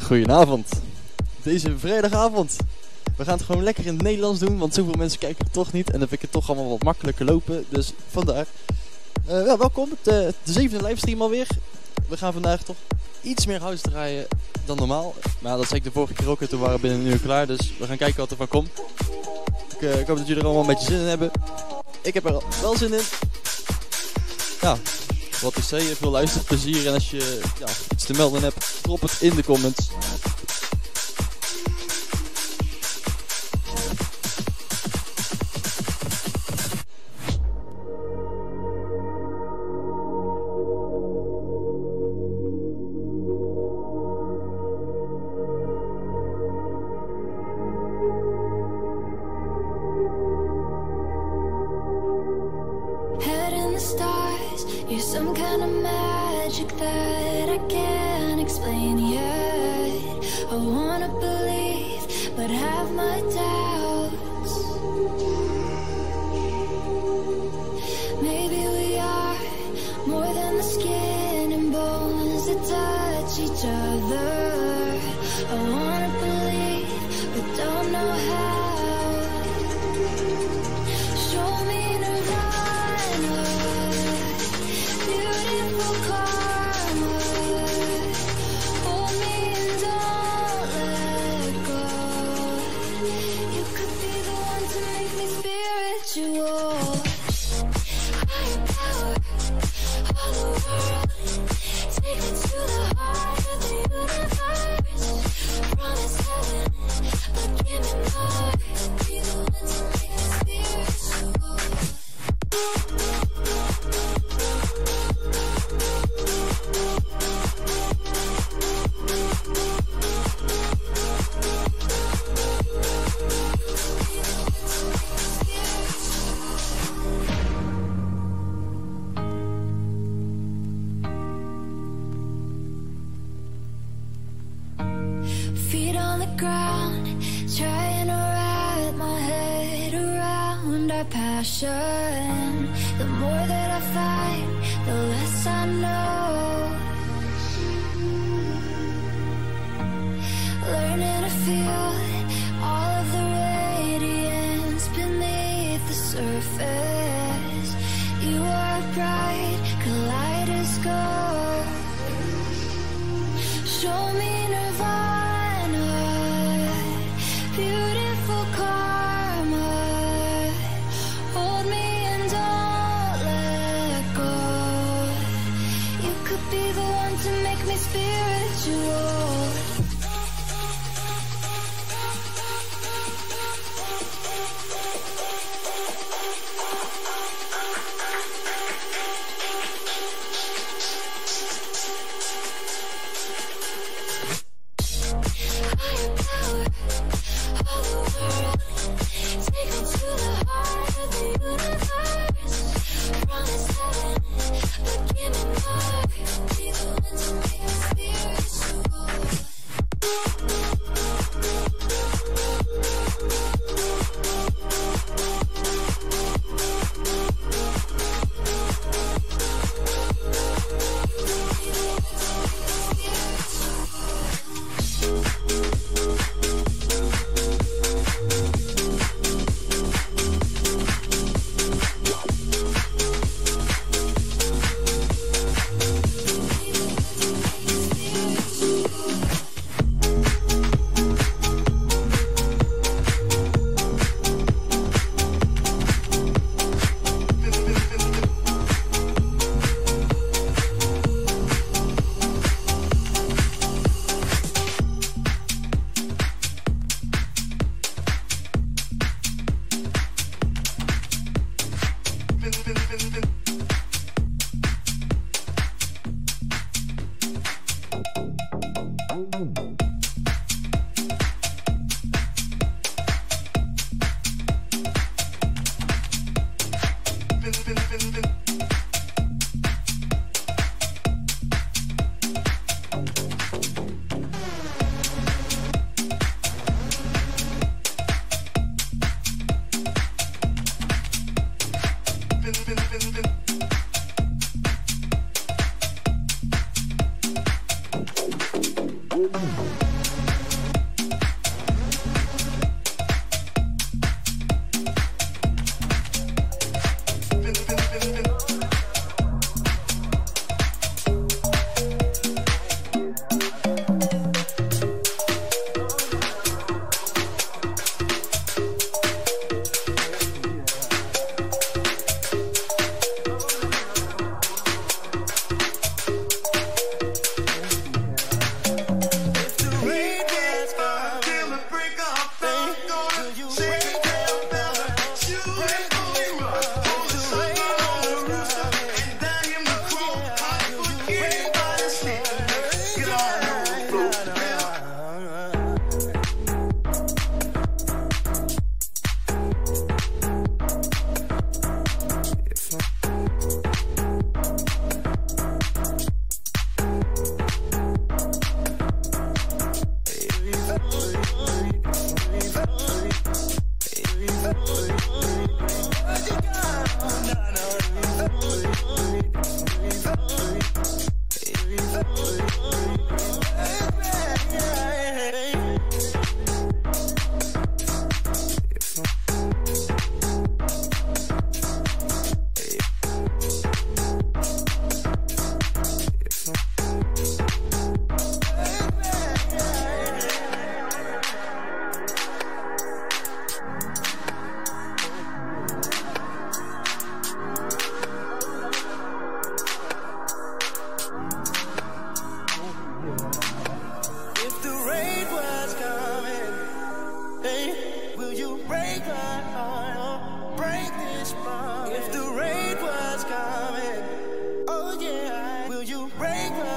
Goedenavond. Deze vrijdagavond. We gaan het gewoon lekker in het Nederlands doen, want zoveel mensen kijken het toch niet. En dan vind ik het toch allemaal wat makkelijker lopen. Dus vandaar. Welkom, de 7e livestream alweer. We gaan vandaag toch iets meer house draaien dan normaal. Maar dat zei ik de vorige keer ook en toen waren we binnen een uur klaar. Dus we gaan kijken wat er van komt. Ik hoop dat jullie er allemaal een beetje zin in hebben. Ik heb er wel zin in. Ja, wat ik zei, veel luisterplezier. En als je iets te melden hebt, drop het in de comments.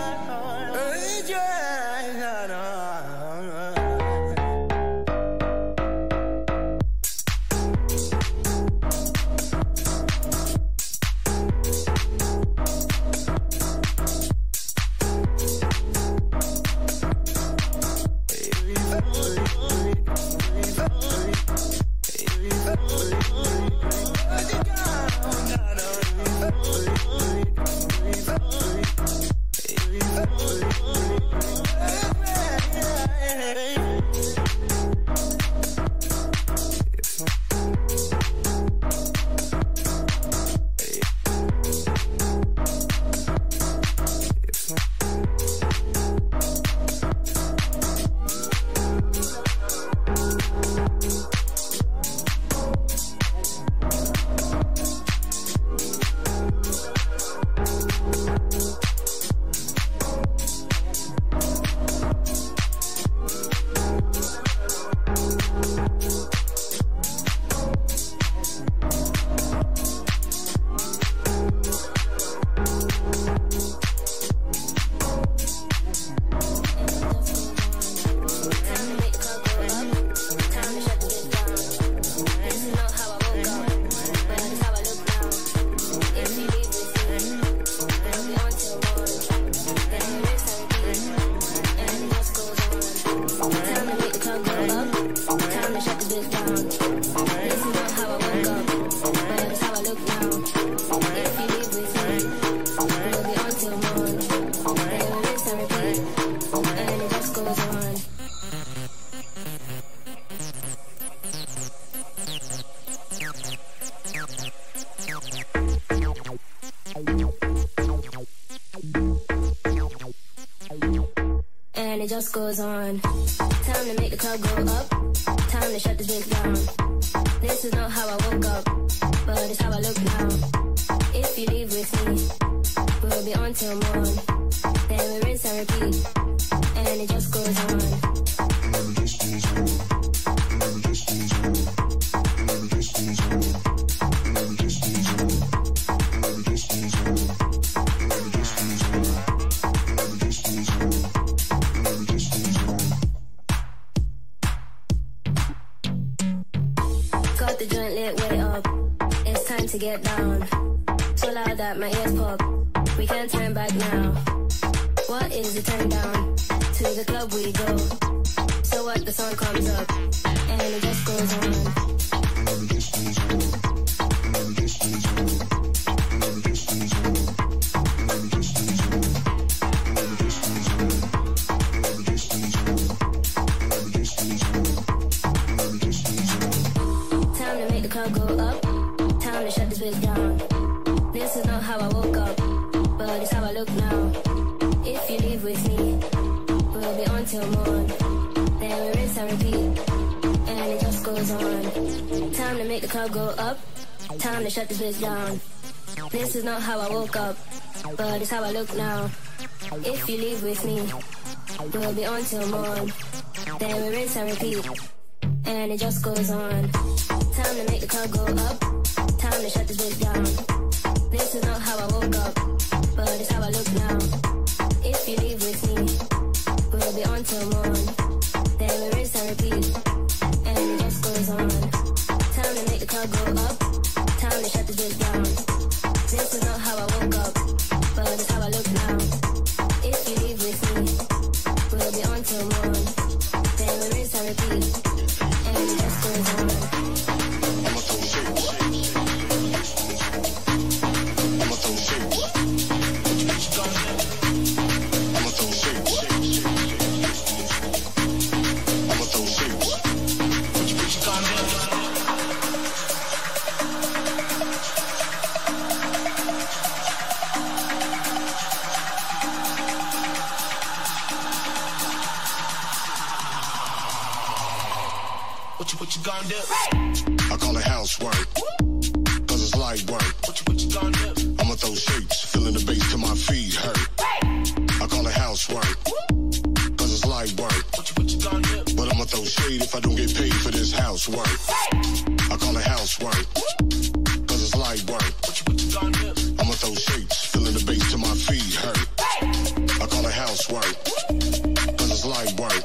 And it just goes on. Time to make the club go up. Time to shut this bitch down. This is not how I woke up, but it's how I look now. If you leave with me, we'll be on till morn. Then we rinse and repeat. And it just goes on. And it just goes on. And it just goes on. And it just goes on. And it just goes on. And it just goes on. And it just goes on. And it just goes on. And it just goes on. Got the joint lit way up. It's time to get down. So loud that my ears pop. We can't turn back now. What is the turn down? To the club we go. So what, the song comes up and it just goes on. And it just goes on. And it just goes on. And it just goes on. And it just goes on. And it just goes on. And it just goes on. And it just goes on. And it just goes on. Time to make the club go up. Time to shut this bitch down. This is not how I woke up, but it's how I look now. If you leave with me, we'll be on till morn. Then we rinse and repeat, and it just goes on. Time to make the club go up. Time to shut this bitch down. This is not how I woke up, but it's how I look now. If you leave with me, we'll be on till morn. Then we rinse and repeat, and it just goes on. Time to make the club go up. Time to shut this bitch down. This is not how I woke up, but it's how I look now. If you leave with me, we'll be on till morn. Then we rinse and repeat, and it just goes on. Time to make the club go up. Time to shut this bitch down. This is not how I woke up, but it's how I look now. If you leave with me, we'll be on till morn. Then we rinse and repeat, and it just goes on. I'ma throw shit. I'ma throw shit. I'ma throw shit. I'ma throw shit. What you gonna do? What you gonna do? I call it housework, cause it's light work. What you gonna do? I'ma throw shapes, feeling the bass till my feet hurt. I call it housework, cause it's light work. What you gonna do? But I'ma throw shade if I don't get paid for this housework. I call it housework, cause it's light work. What you gonna do? I'ma throw shapes, feeling the bass till my feet hurt. I call it it housework, cause it's light work.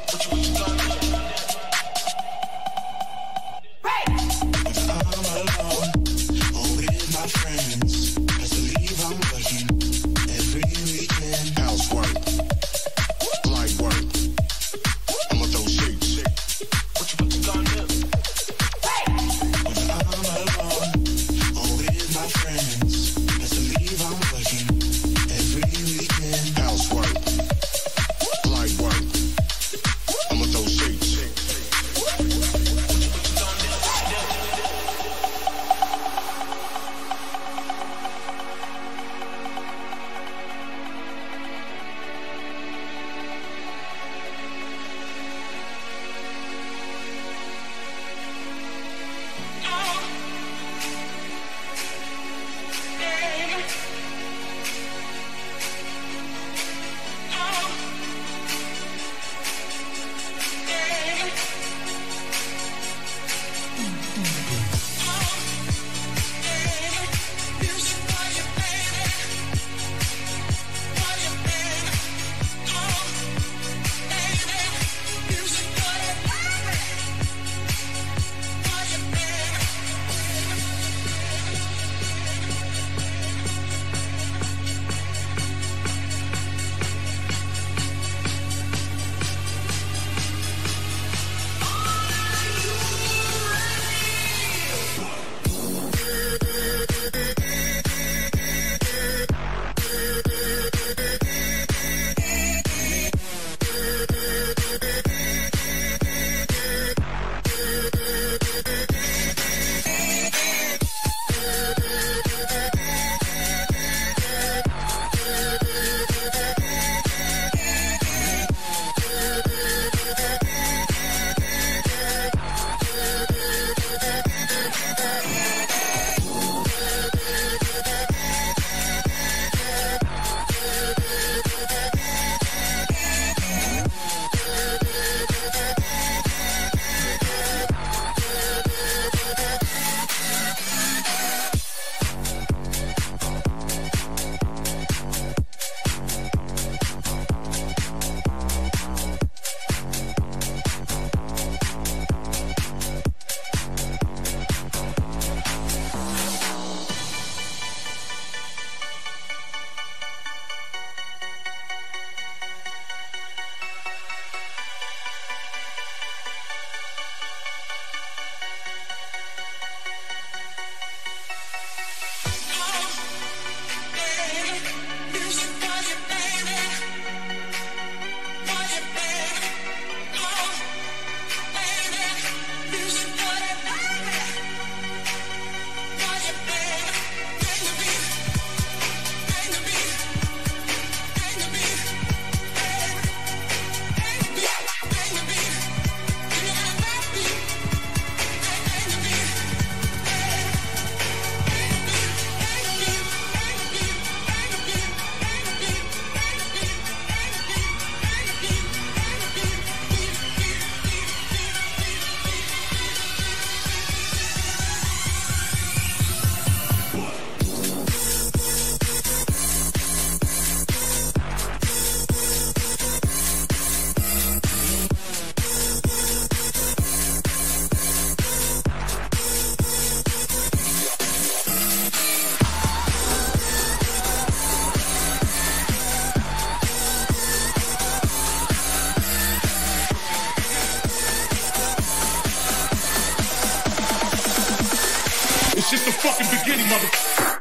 just the fucking beginning, motherfucker.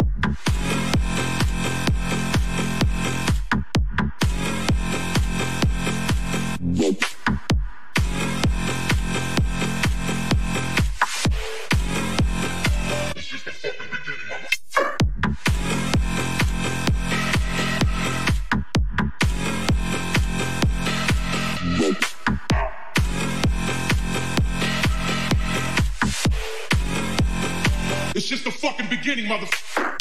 It's just the fucking beginning, motherfucker.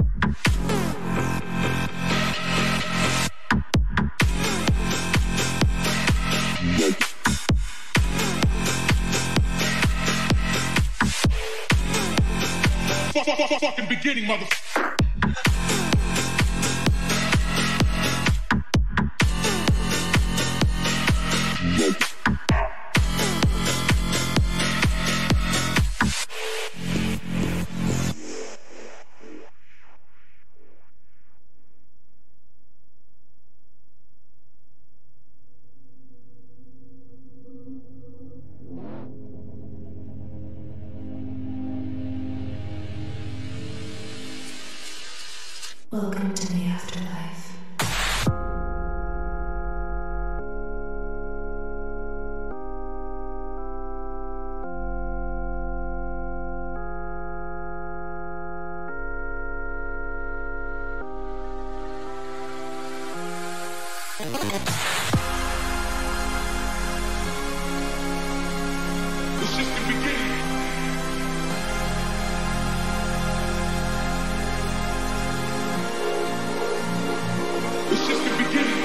Fucking beginning, motherfucker. Welcome to the afterlife. It's just the beginning. It's just the beginning.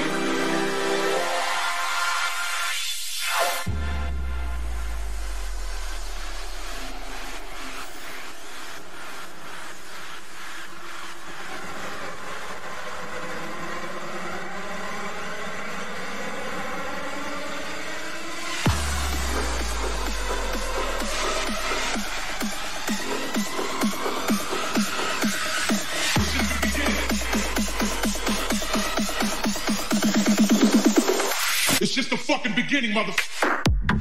It's just the fucking beginning, motherfucker.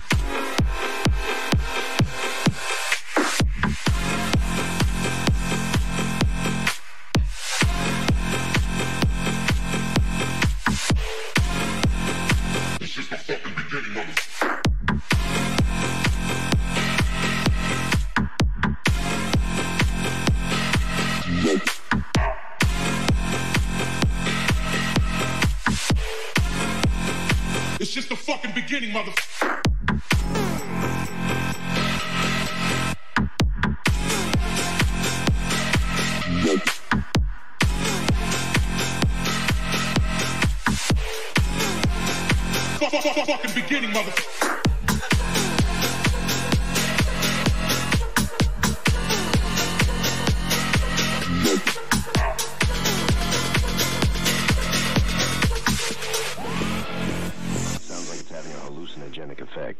It's just the fucking beginning, motherfucker. It's just the fucking beginning, motherfucker. Fucking beginning, motherfucker. Sounds like it's having a hallucinogenic effect.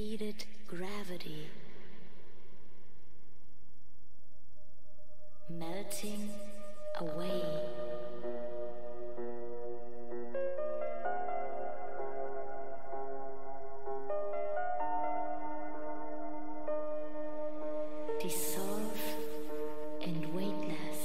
defeated gravity, melting away. Dissolve and weightless.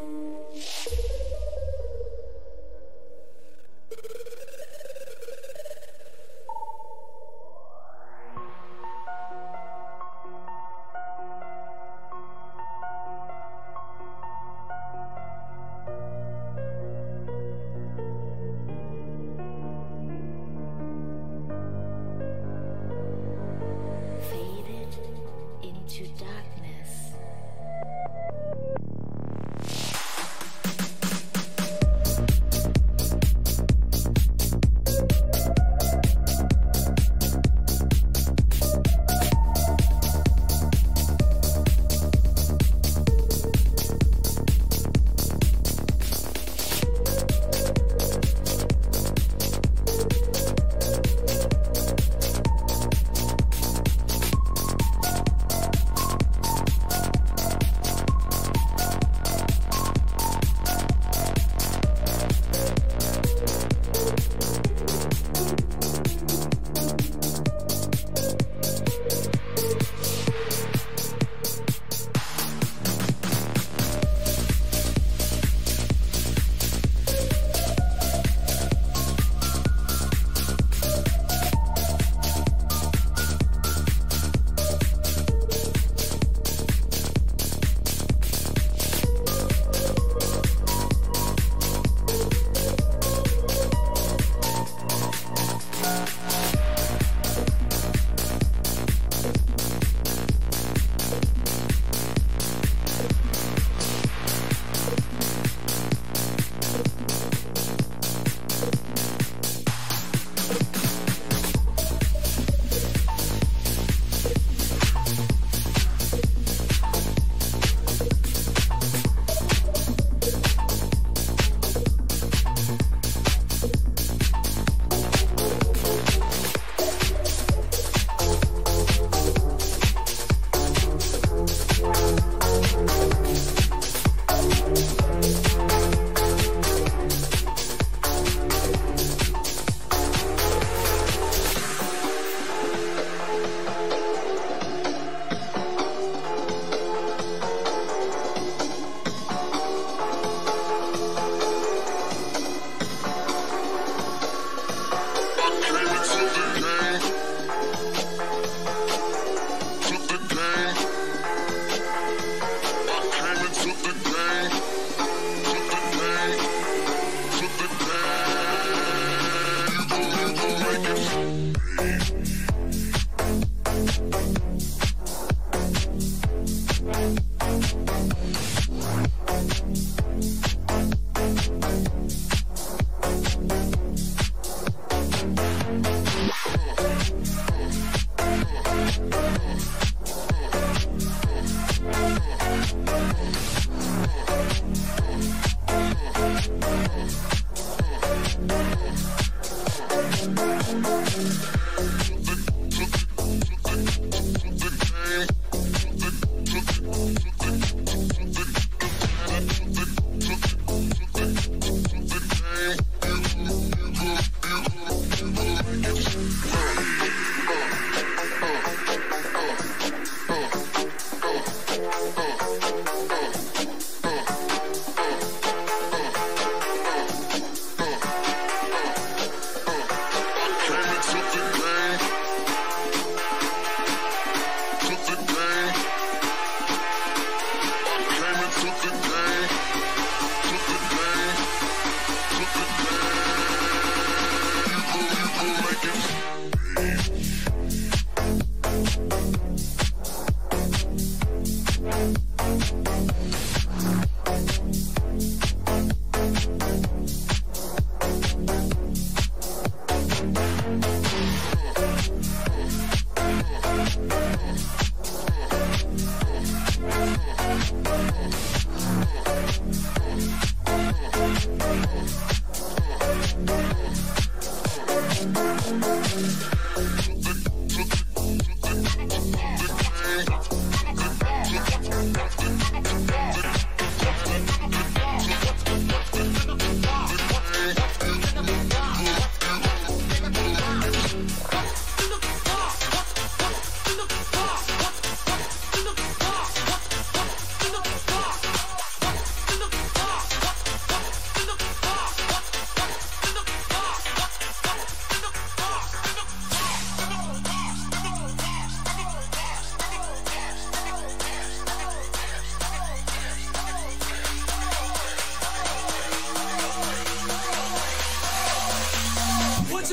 Into darkness.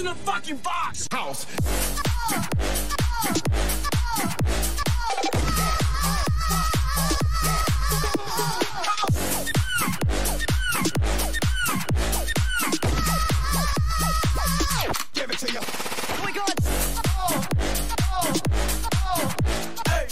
in the fucking box? House. Give it to you. Oh my God. Hey.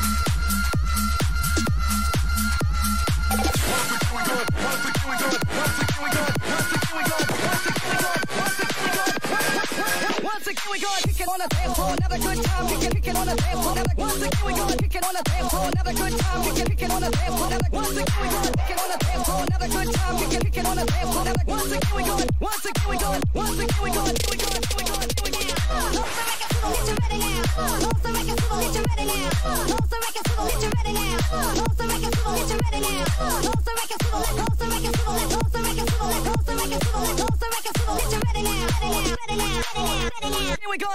Once again we go, kick it on the dance floor, another good time. Kick it on the dance floor, another. Once again we go, kick it on the dance floor, another good time. Kick it on the dance floor, another. Once again we go, kick it on the dance floor, another good time. Kick it on the dance floor, another. Once again we go, once again we go, once again we go, here we go, here we go, here we go. Get you ready now. Most the records will get you ready now. Most the records will get you ready now. Most the records will get you ready now. Most the records will let. Most the records will let. Most the records will let. Most the records will let. Most the records will get you ready now. Ready now. Ready now. Ready now. Ready now. Here we go.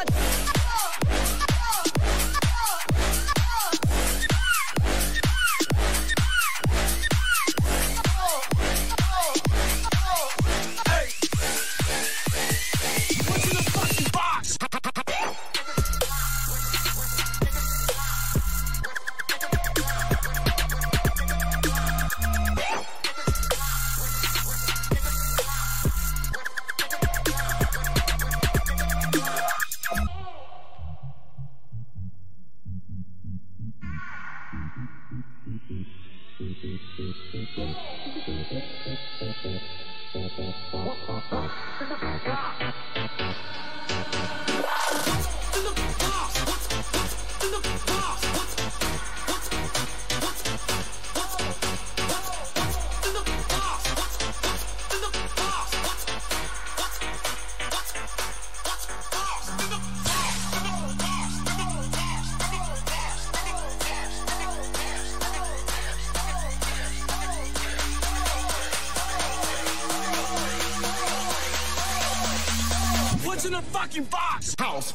What's in the fucking box? House.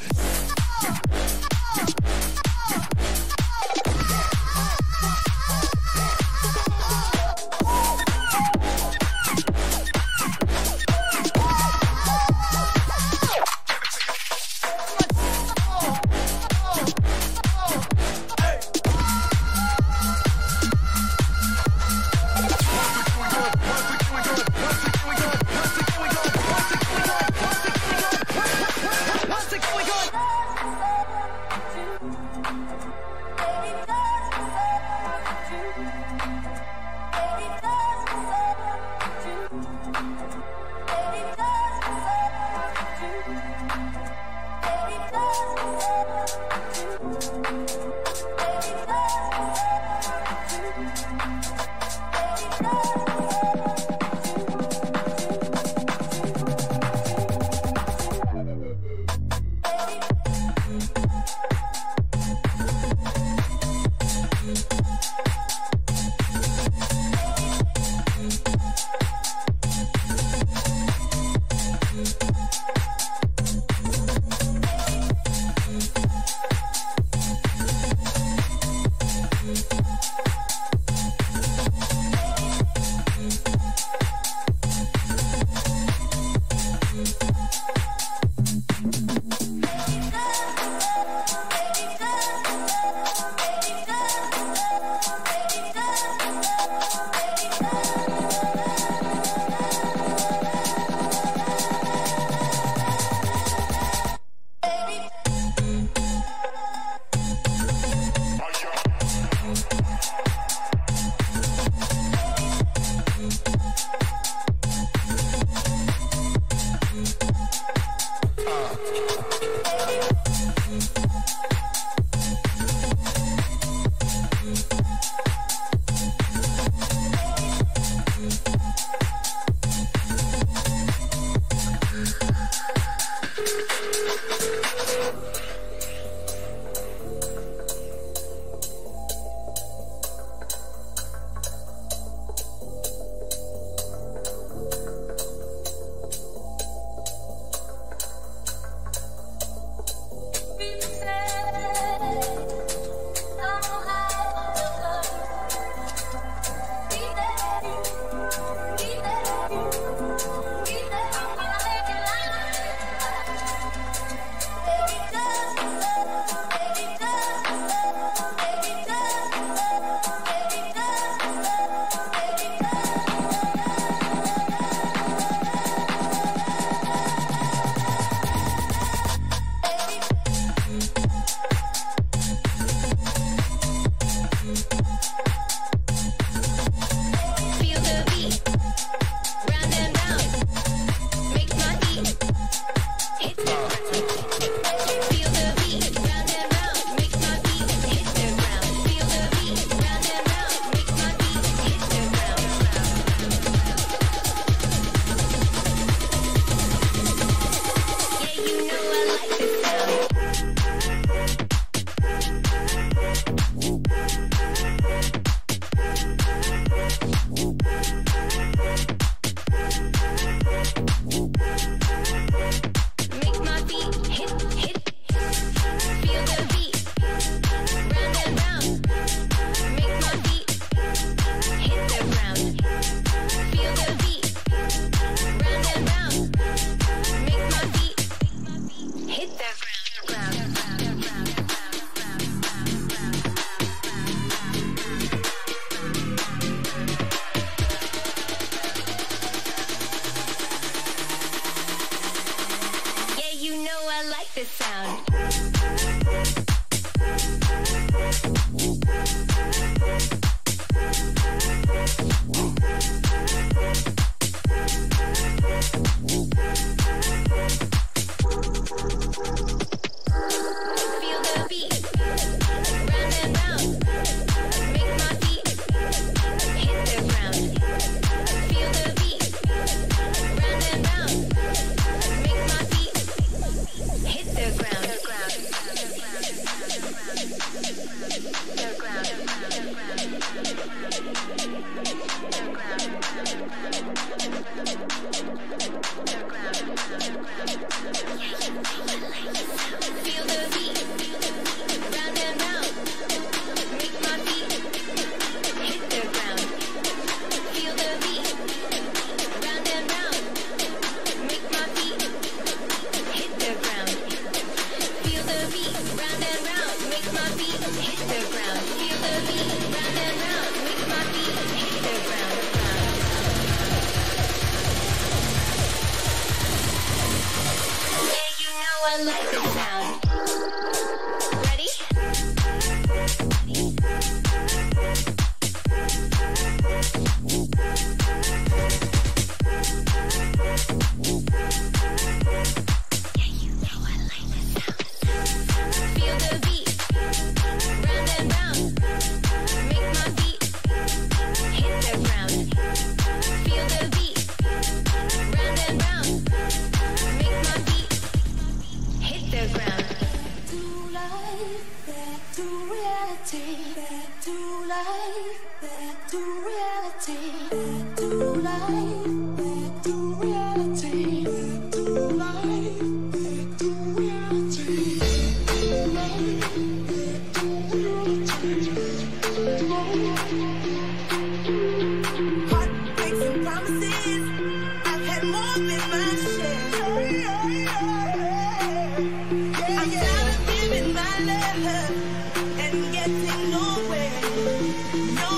I'm tired of giving my love and getting nowhere.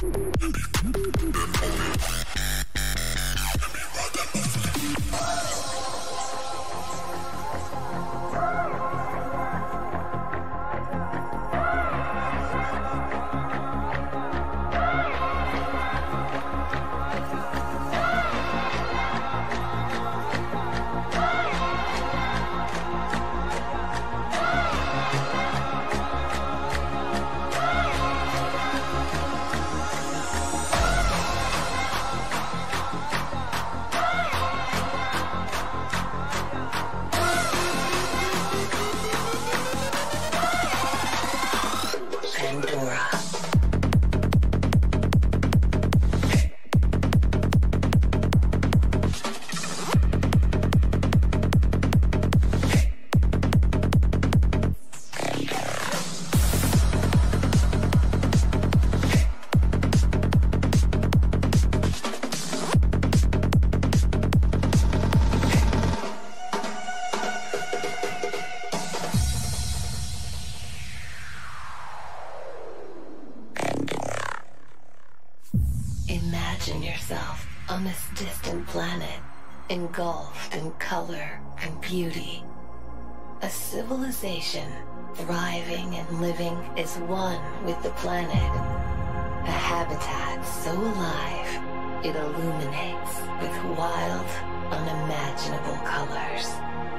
Imagine yourself on this distant planet, engulfed in color and beauty. A civilization thriving and living is one with the planet. A habitat so alive, it illuminates with wild, unimaginable colors.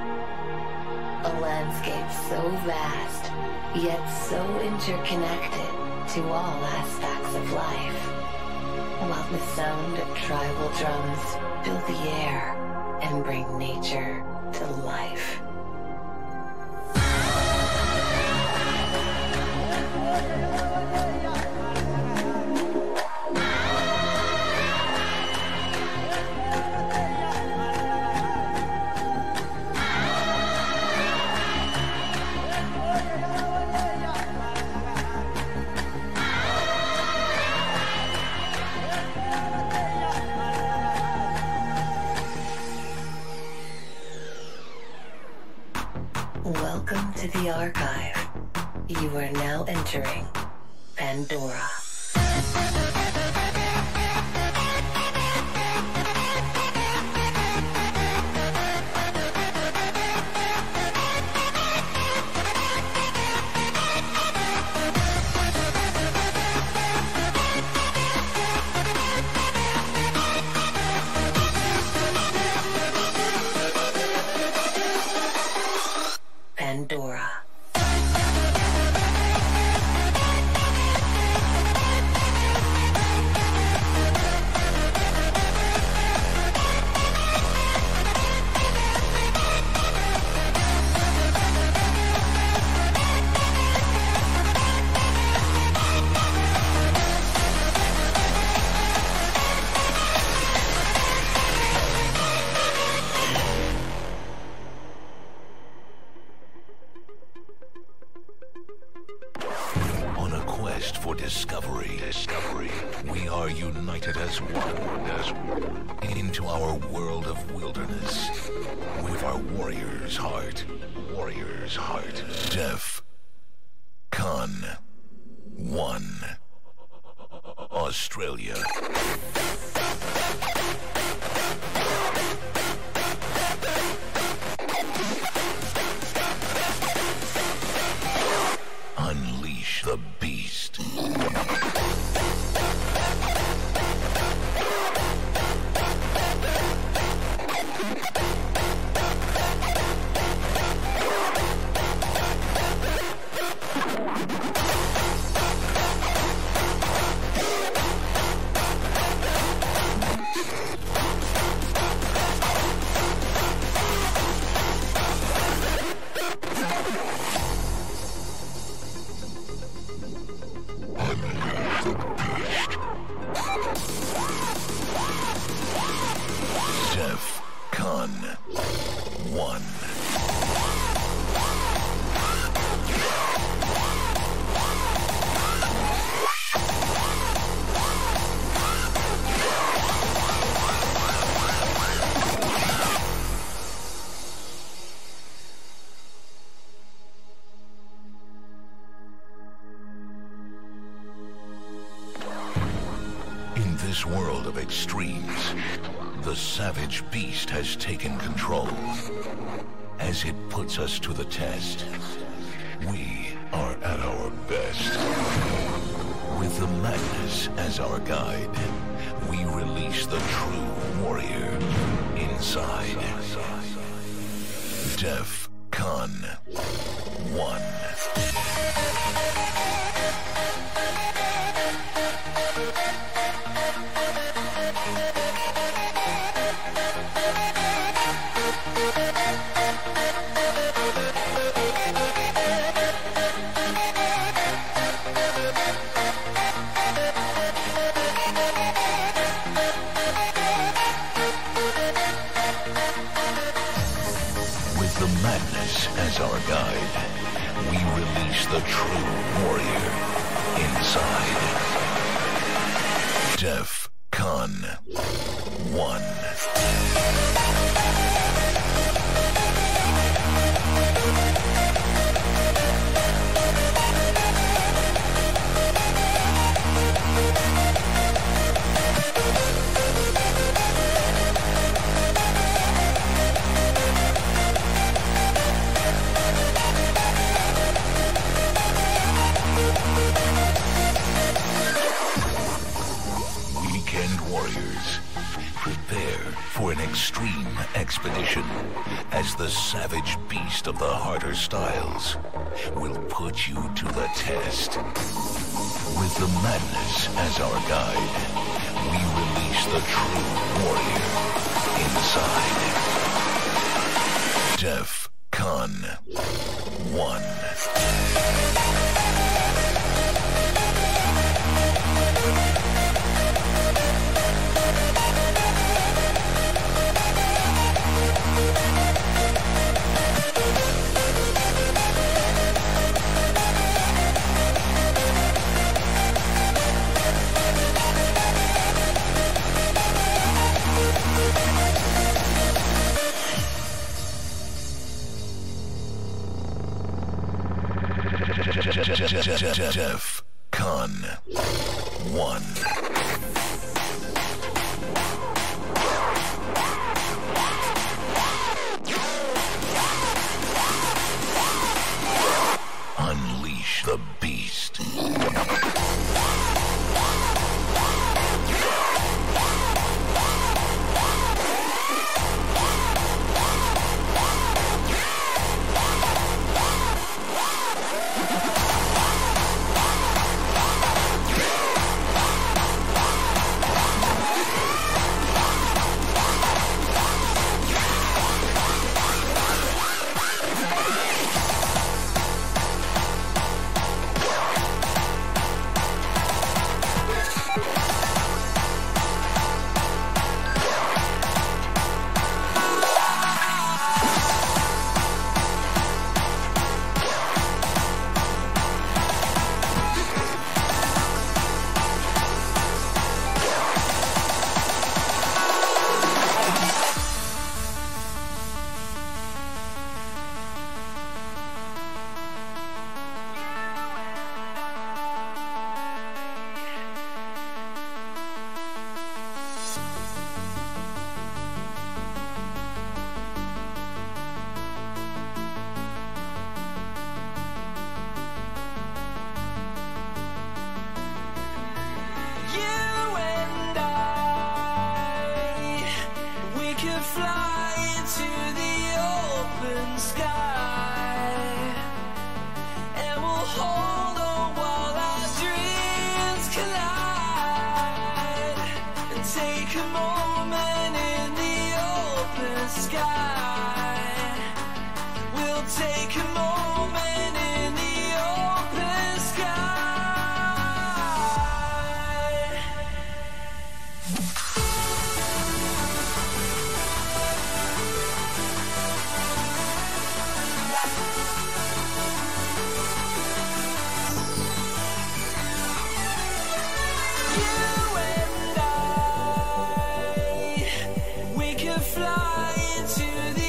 A landscape so vast, yet so interconnected to all aspects of life. While the sound of tribal drums fill the air and bring nature to life. Welcome to the archive. You are now entering Pandora. Pandora. On a quest for discovery, we are united as one, into our world of wilderness, with our warrior's heart, Def Con 1, Australia. Unleash the beast. this world of extremes, the savage beast has taken control. As it puts us to the test, we are at our best. With the madness as our guide, we release the true warrior inside. DEF CON 1. With the madness as our guide, we release the true warrior inside. DEF CON 1. Weekend warriors, prepare for an extreme expedition as the savage beast of the harder styles will put you to the test. With the madness as our guide, we release the true warrior inside. DEF CON 1. DEF CON 1. Unleash the beast. We could fly into the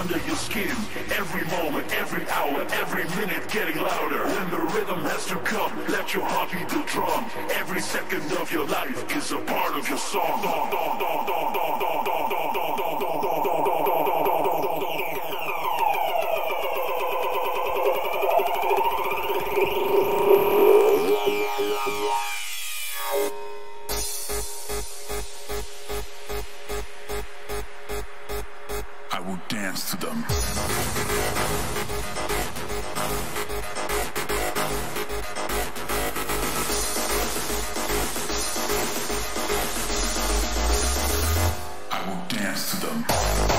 under your skin. Every moment, every hour, every minute getting louder. When the rhythm has to come, let your heart beat the drum. Every second of your life is a part of your song. I will dance to them. I will dance to them.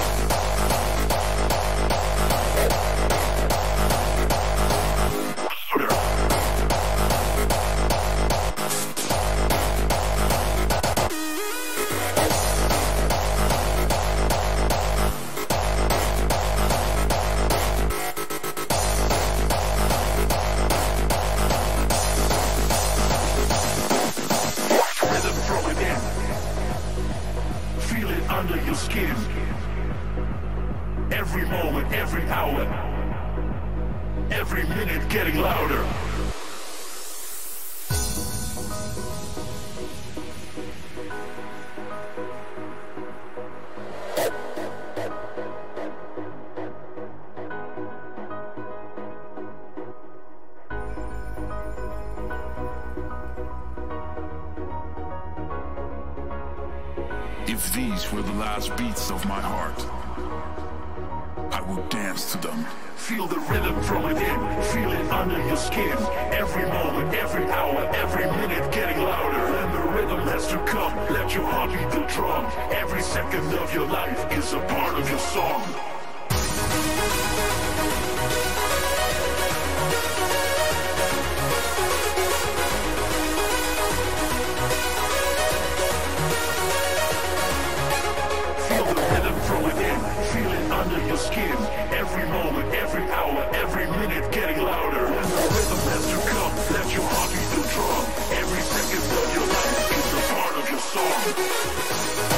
Under your skin. Every moment, every hour, every minute getting louder. If these were the last beats of my heart, I would dance to them. Feel the rhythm from within, feel it under your skin. Every moment, every hour, every minute getting louder. When the rhythm has to come, let your heart beat the drum. Every second of your life is a part of your song. Under your skin, every moment, every hour, every minute getting louder. When the rhythm has to come, let your heart beat the drum. Every second of your life is a part of your song.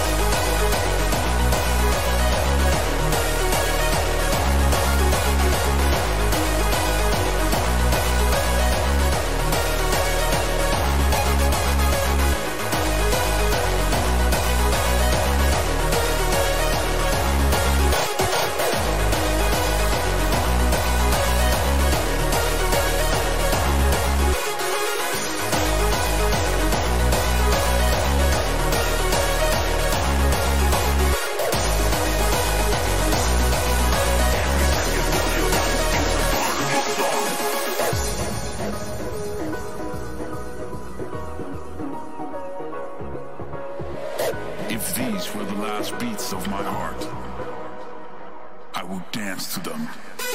If these were the last beats of my heart, I would dance to them.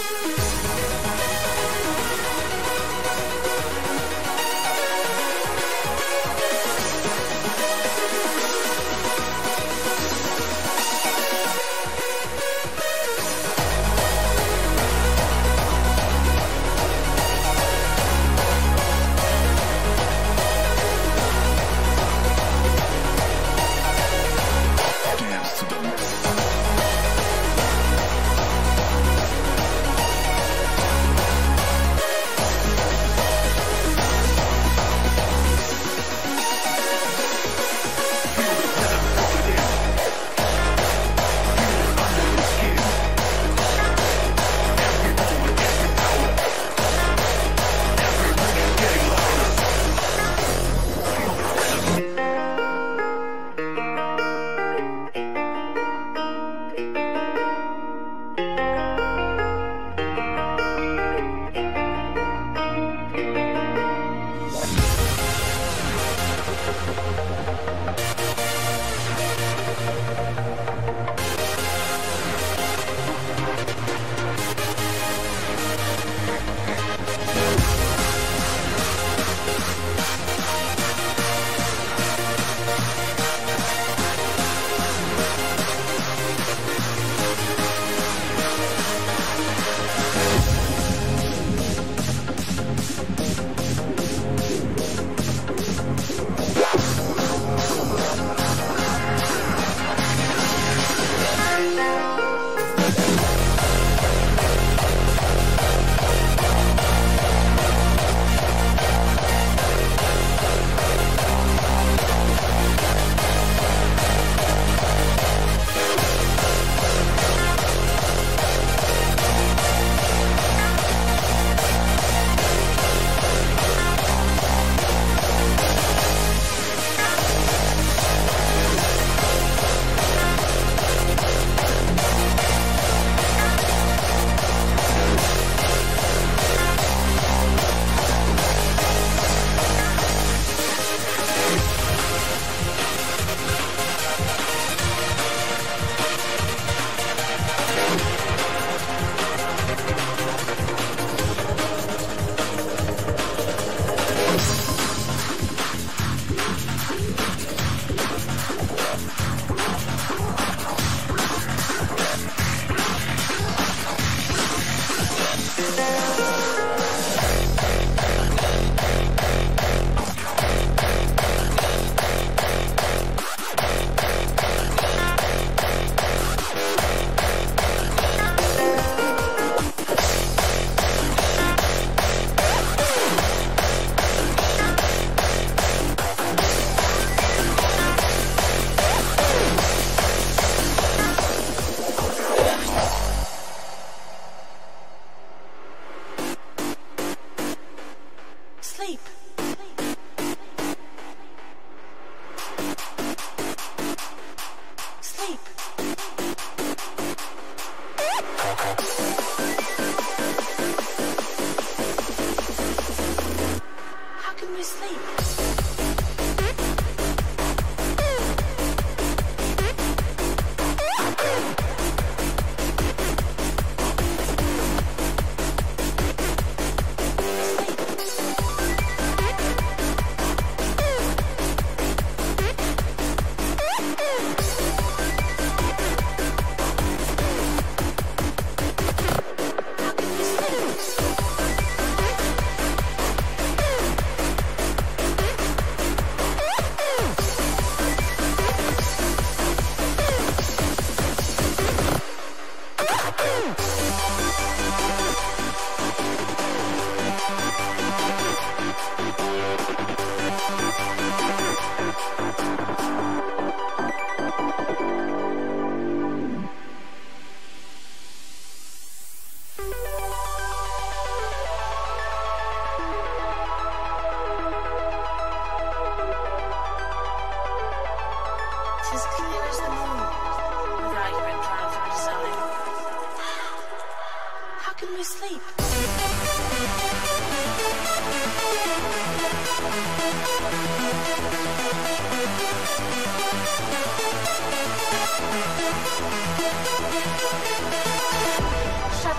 Dance to them.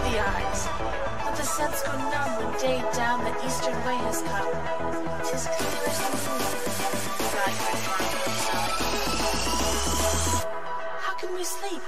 the eyes. Let the sense go numb when day down the eastern way has come. 'Tis clear as the moon, bright and bright inside. How can we sleep?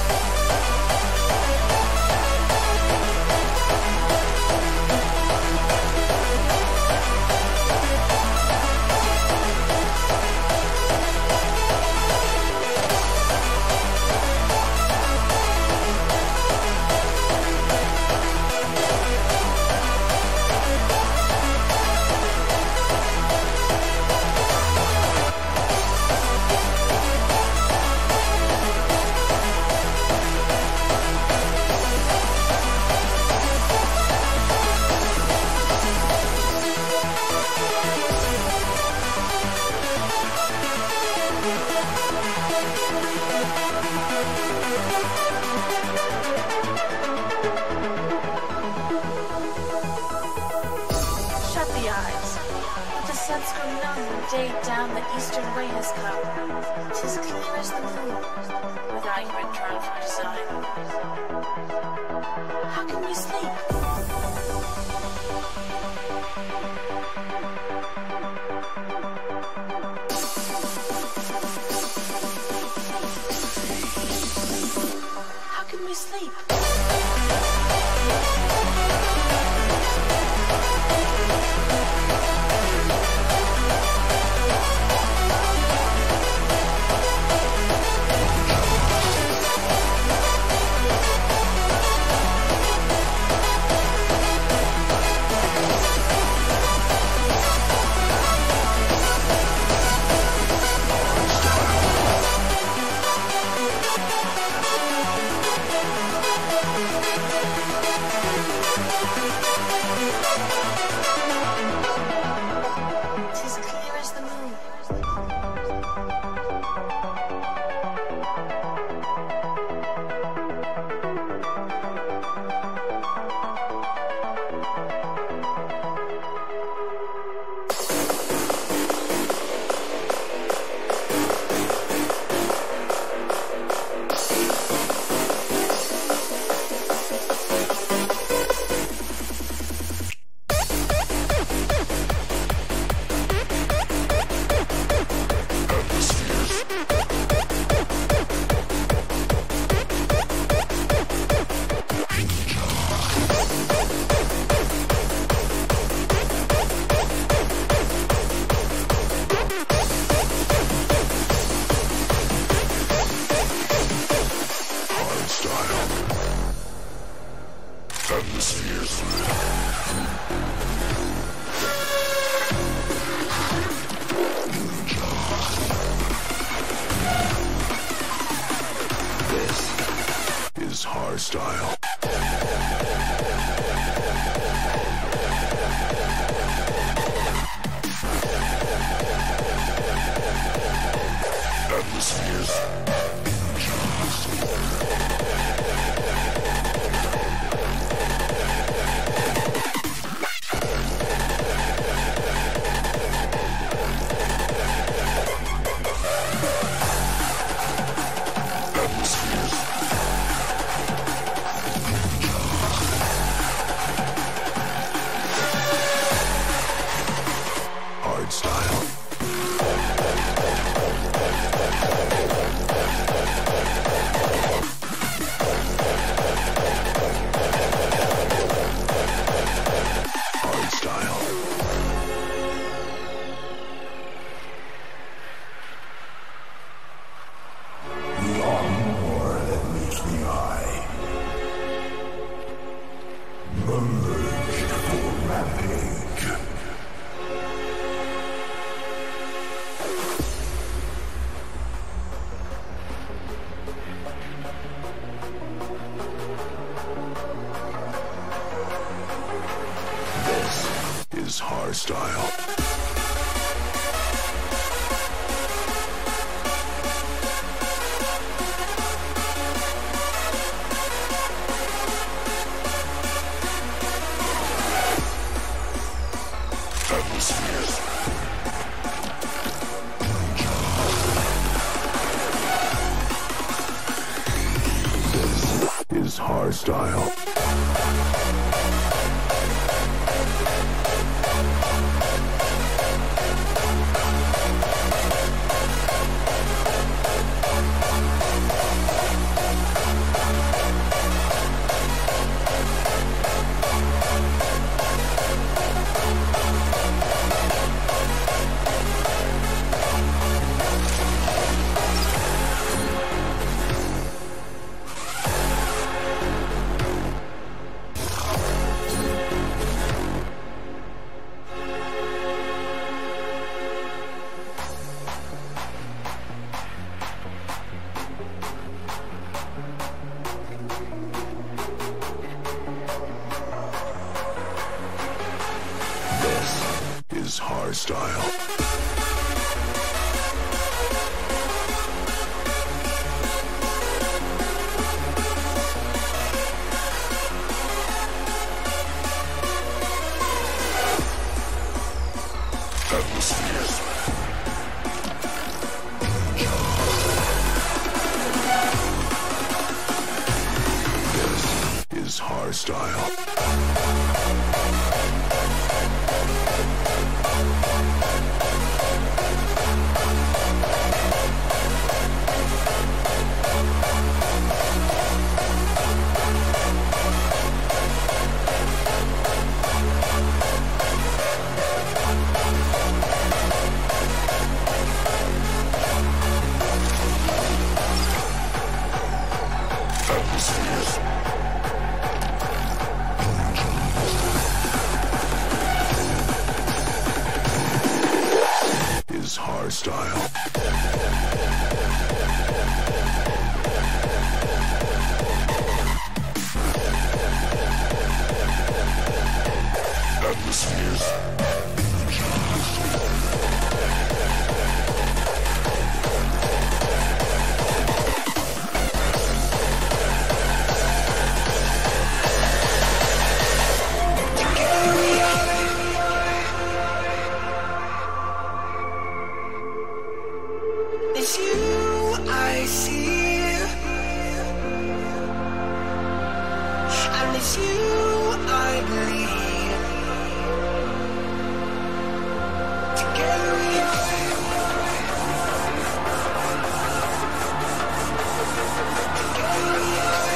Day down the eastern way has come. 'Tis clear as the moon, without your drive for design. How can we sleep? How can we sleep? Hardstyle. Atmospheres. Hardstyle. This is hardstyle. hardstyle. Atmospheres. This is hardstyle. Is hardstyle. Atmospheres. It's you I see, and it's you I believe. Together we are. Together we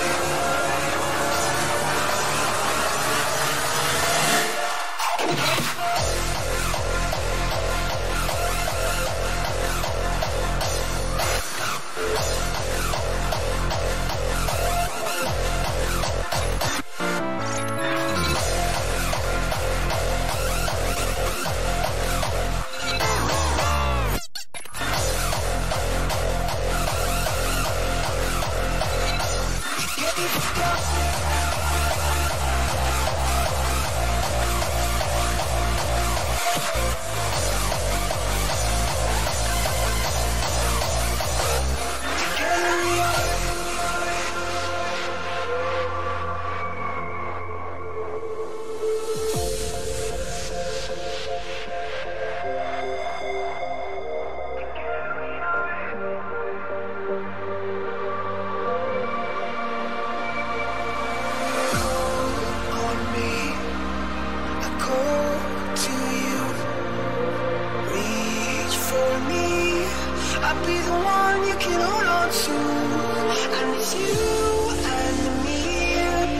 I'll be the one you can hold on to, and it's you and me,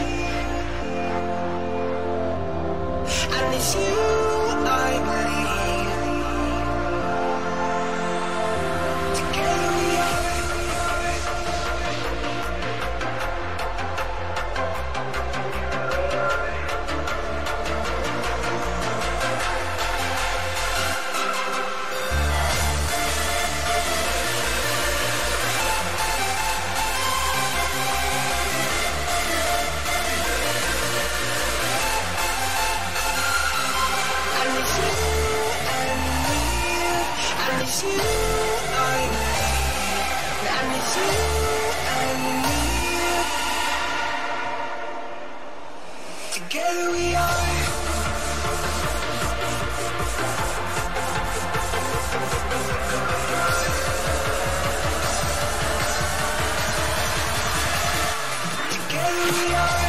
and it's you I believe. Together we are. It's you I need, and it's you and me. Together we are. Together we are.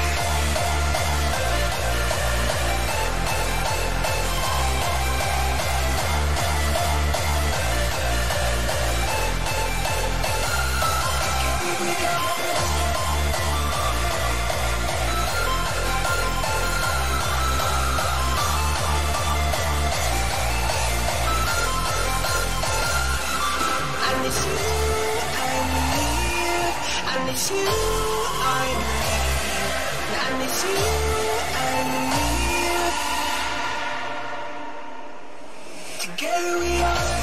And it's you and me, and it's you I need, and it's you and me. Together we are.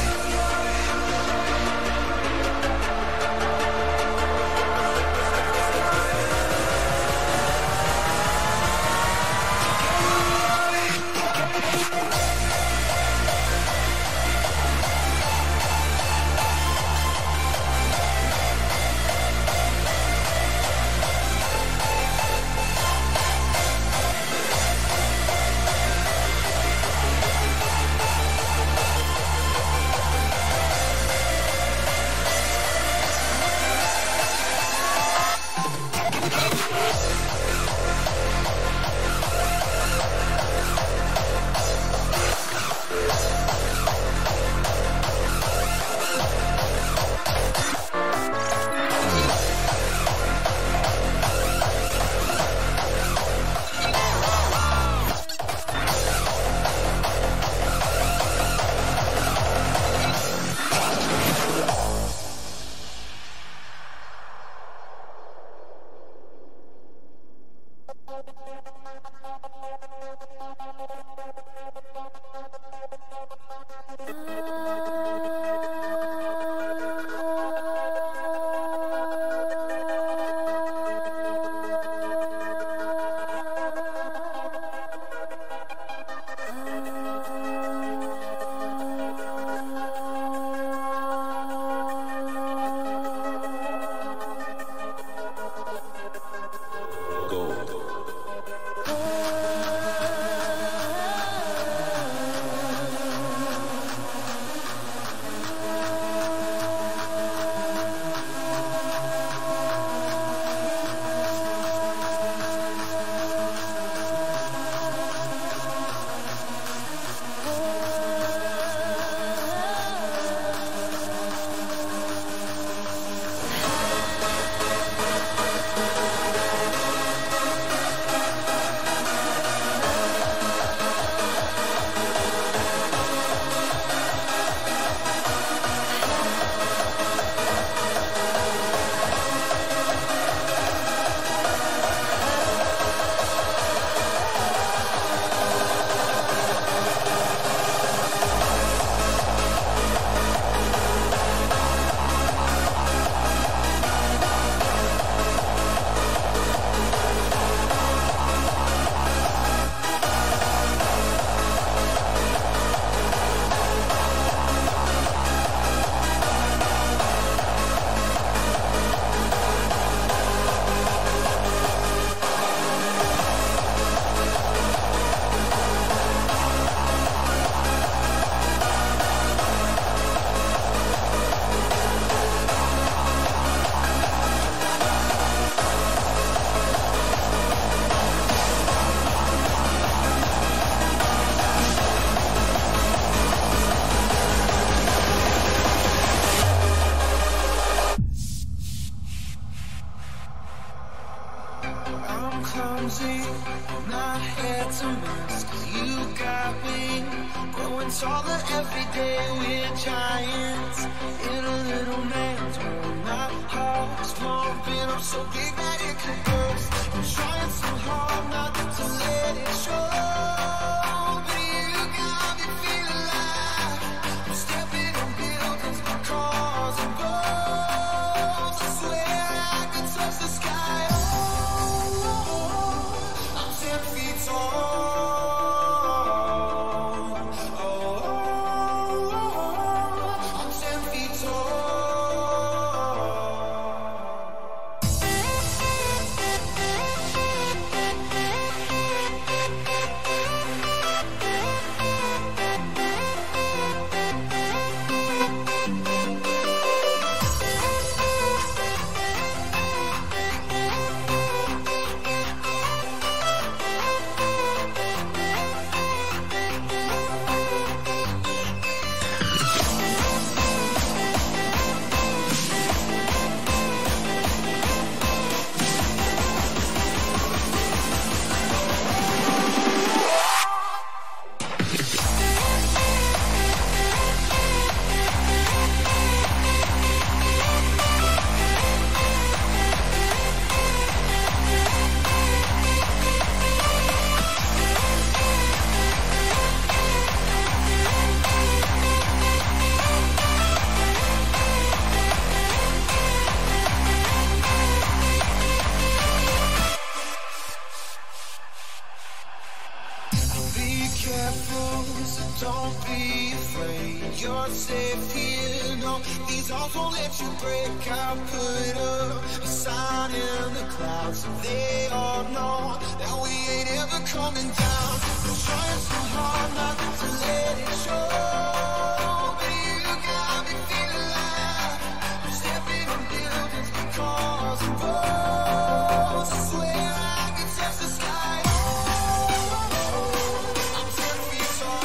clumsy, my head's a mess. 'Cause you got me growing taller every day. We're giants in a little man's world. My heart's pumping up so big that it could burst. I'm trying so hard not to let it show, but you got me feeling like I'm stepping on buildings, cars and boats. I swear I could touch the sky. Oh, I'm 10 feet tall. Oh, I'm 10 feet tall. Don't be afraid, you're safe here. No, these walls won't let you break. I put up a sign in the clouds so they all know that we ain't ever coming down. I'm trying so hard not to let it show, but you got me feeling like I'm stepping on buildings, cars and boats. I swear I can touch the sky. I'm 10 feet tall.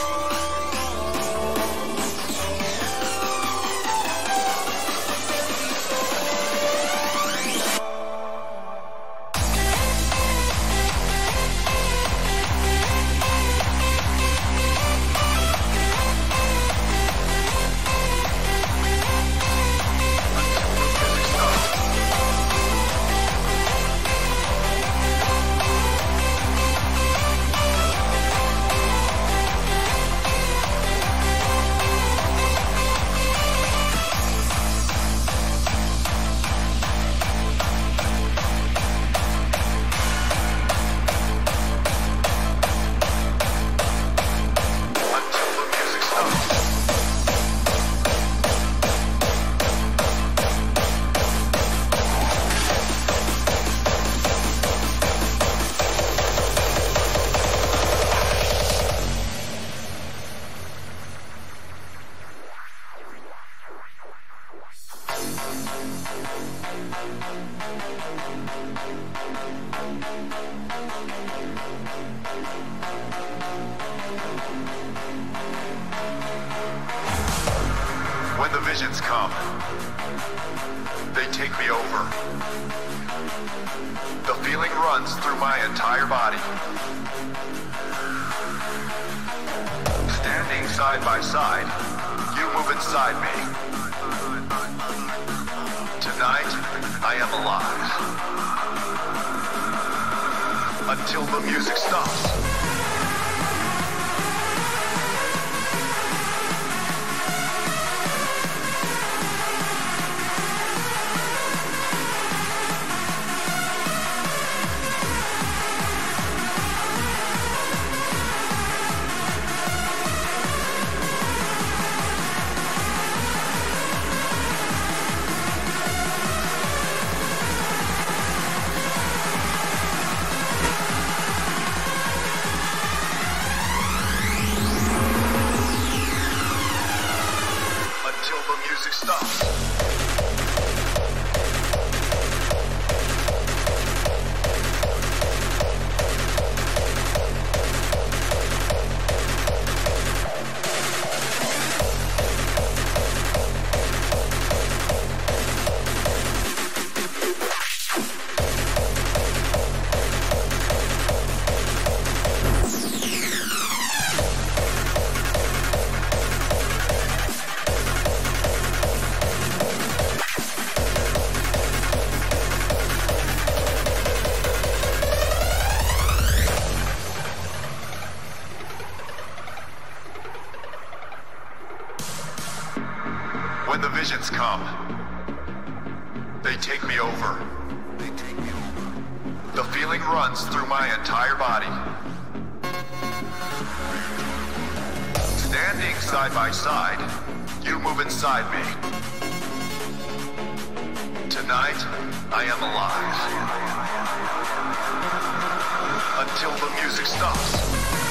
When the visions come, they take me over. The feeling runs through my entire body. Standing side by side, you move inside me. Tonight, I am alive. Until the music stops. They take me over. The feeling runs through my entire body. Standing side by side, you move inside me. Tonight, I am alive. Until the music stops.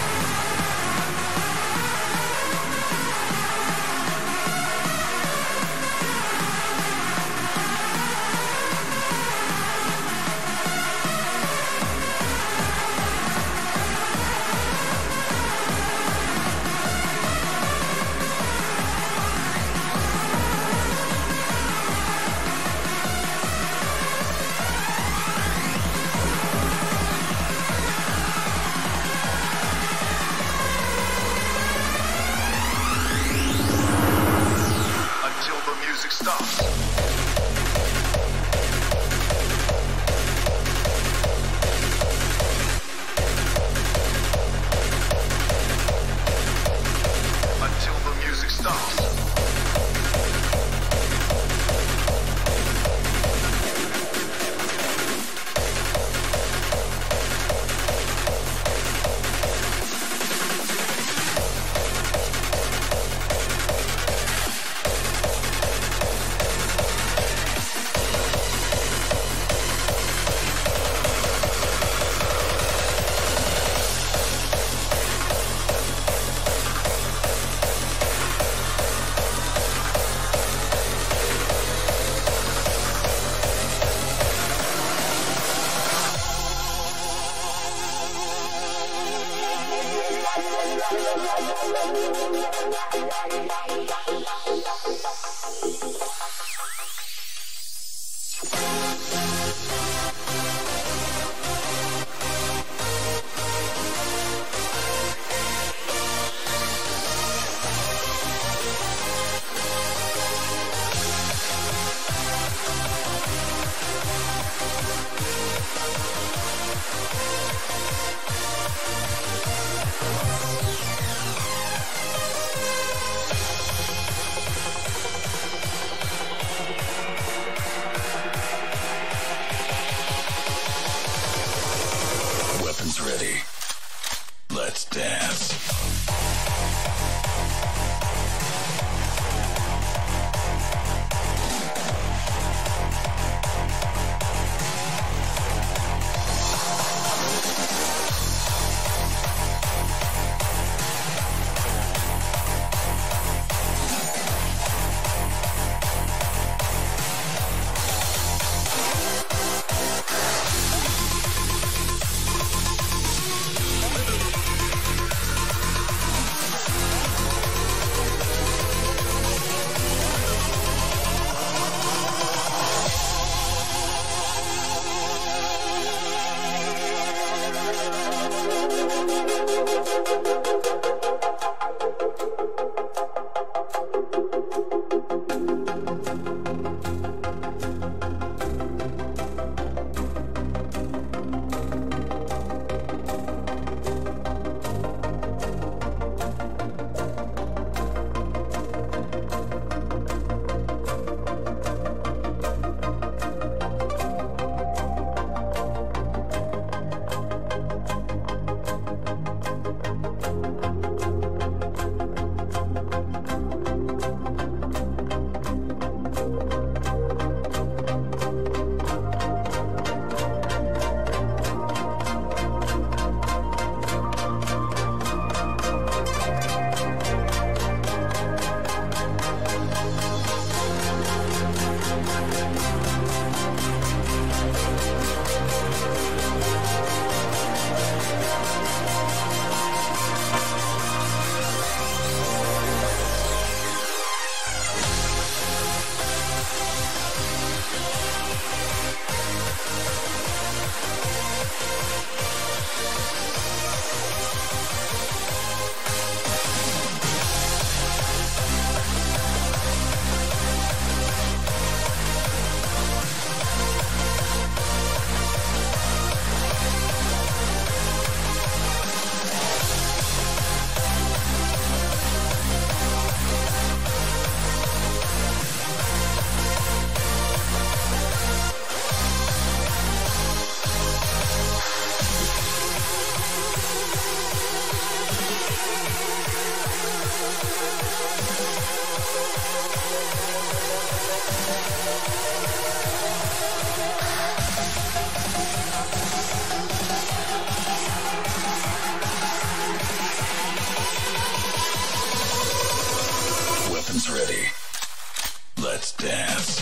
Ready. Let's dance. Weapons ready. Let's dance.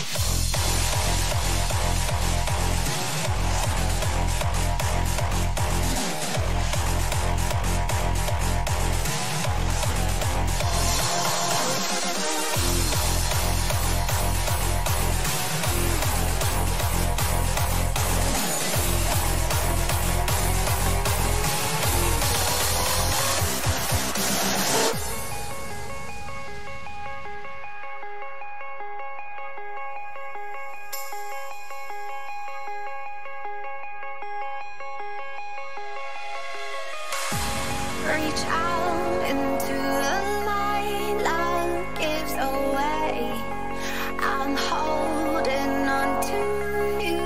Reach out into the light, love gives away. I'm holding on to you.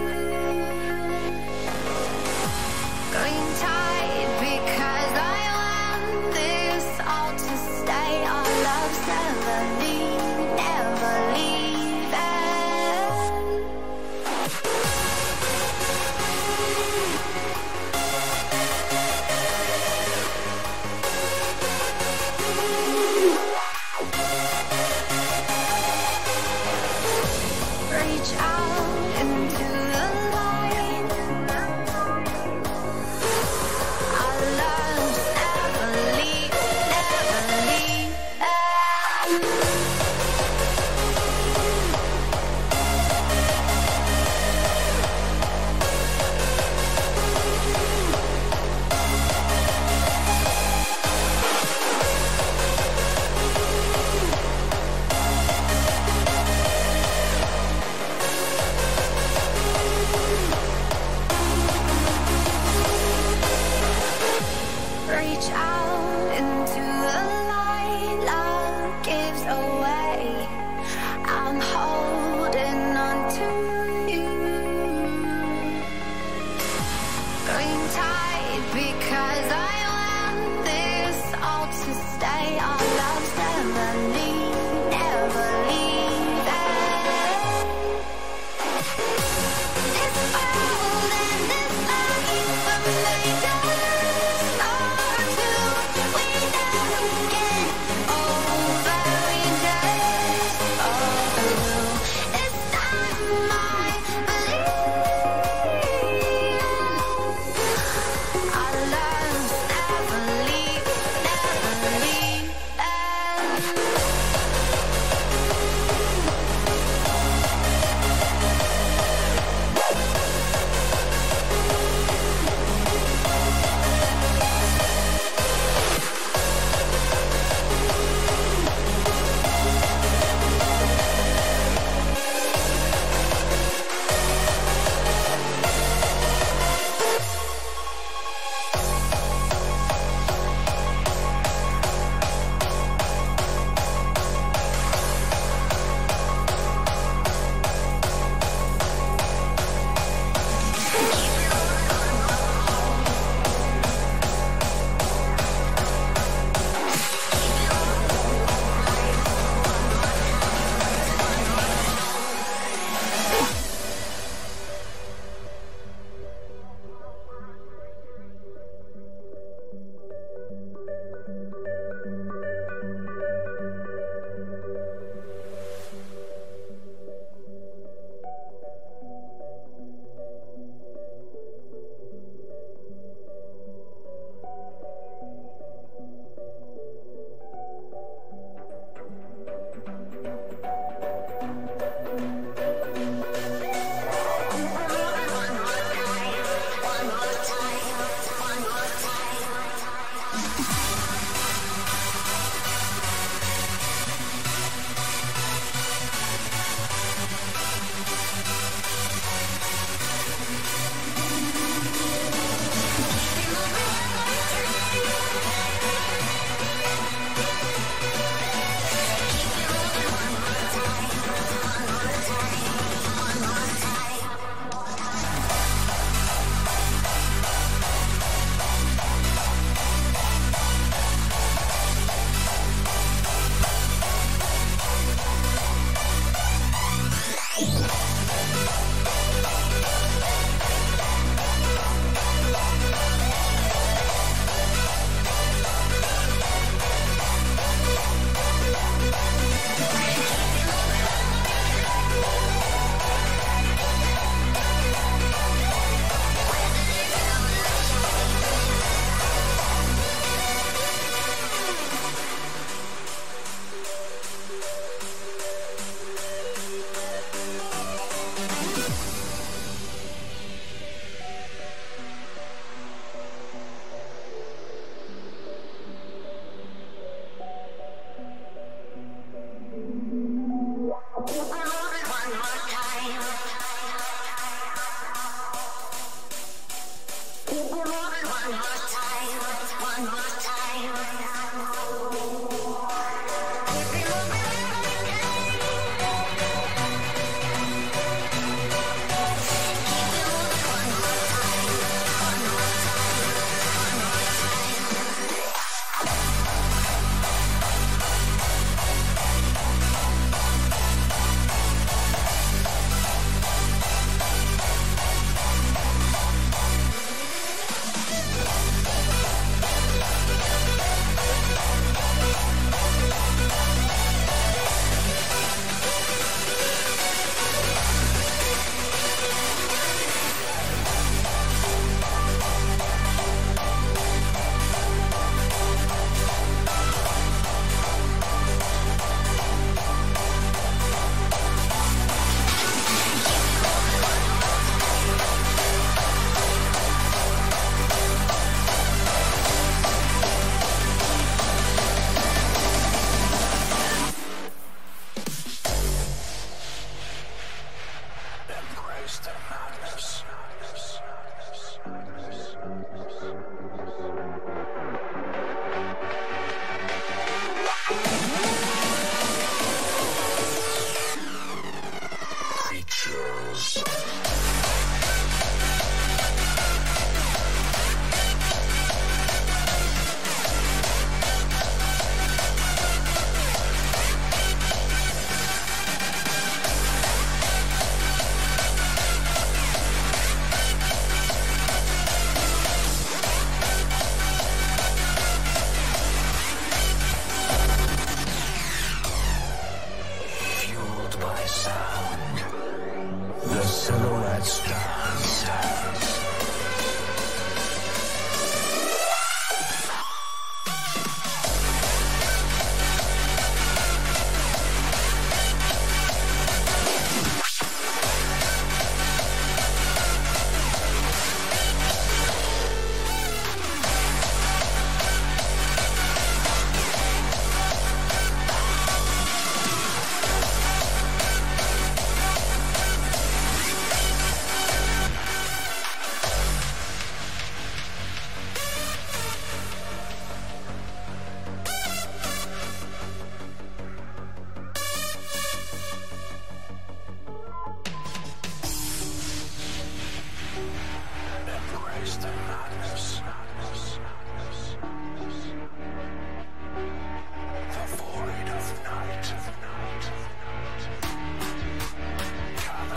Going tight because I want this all to stay. Our love's never leave, never leaving. Reach out into the light. Our love's never leave, never leave.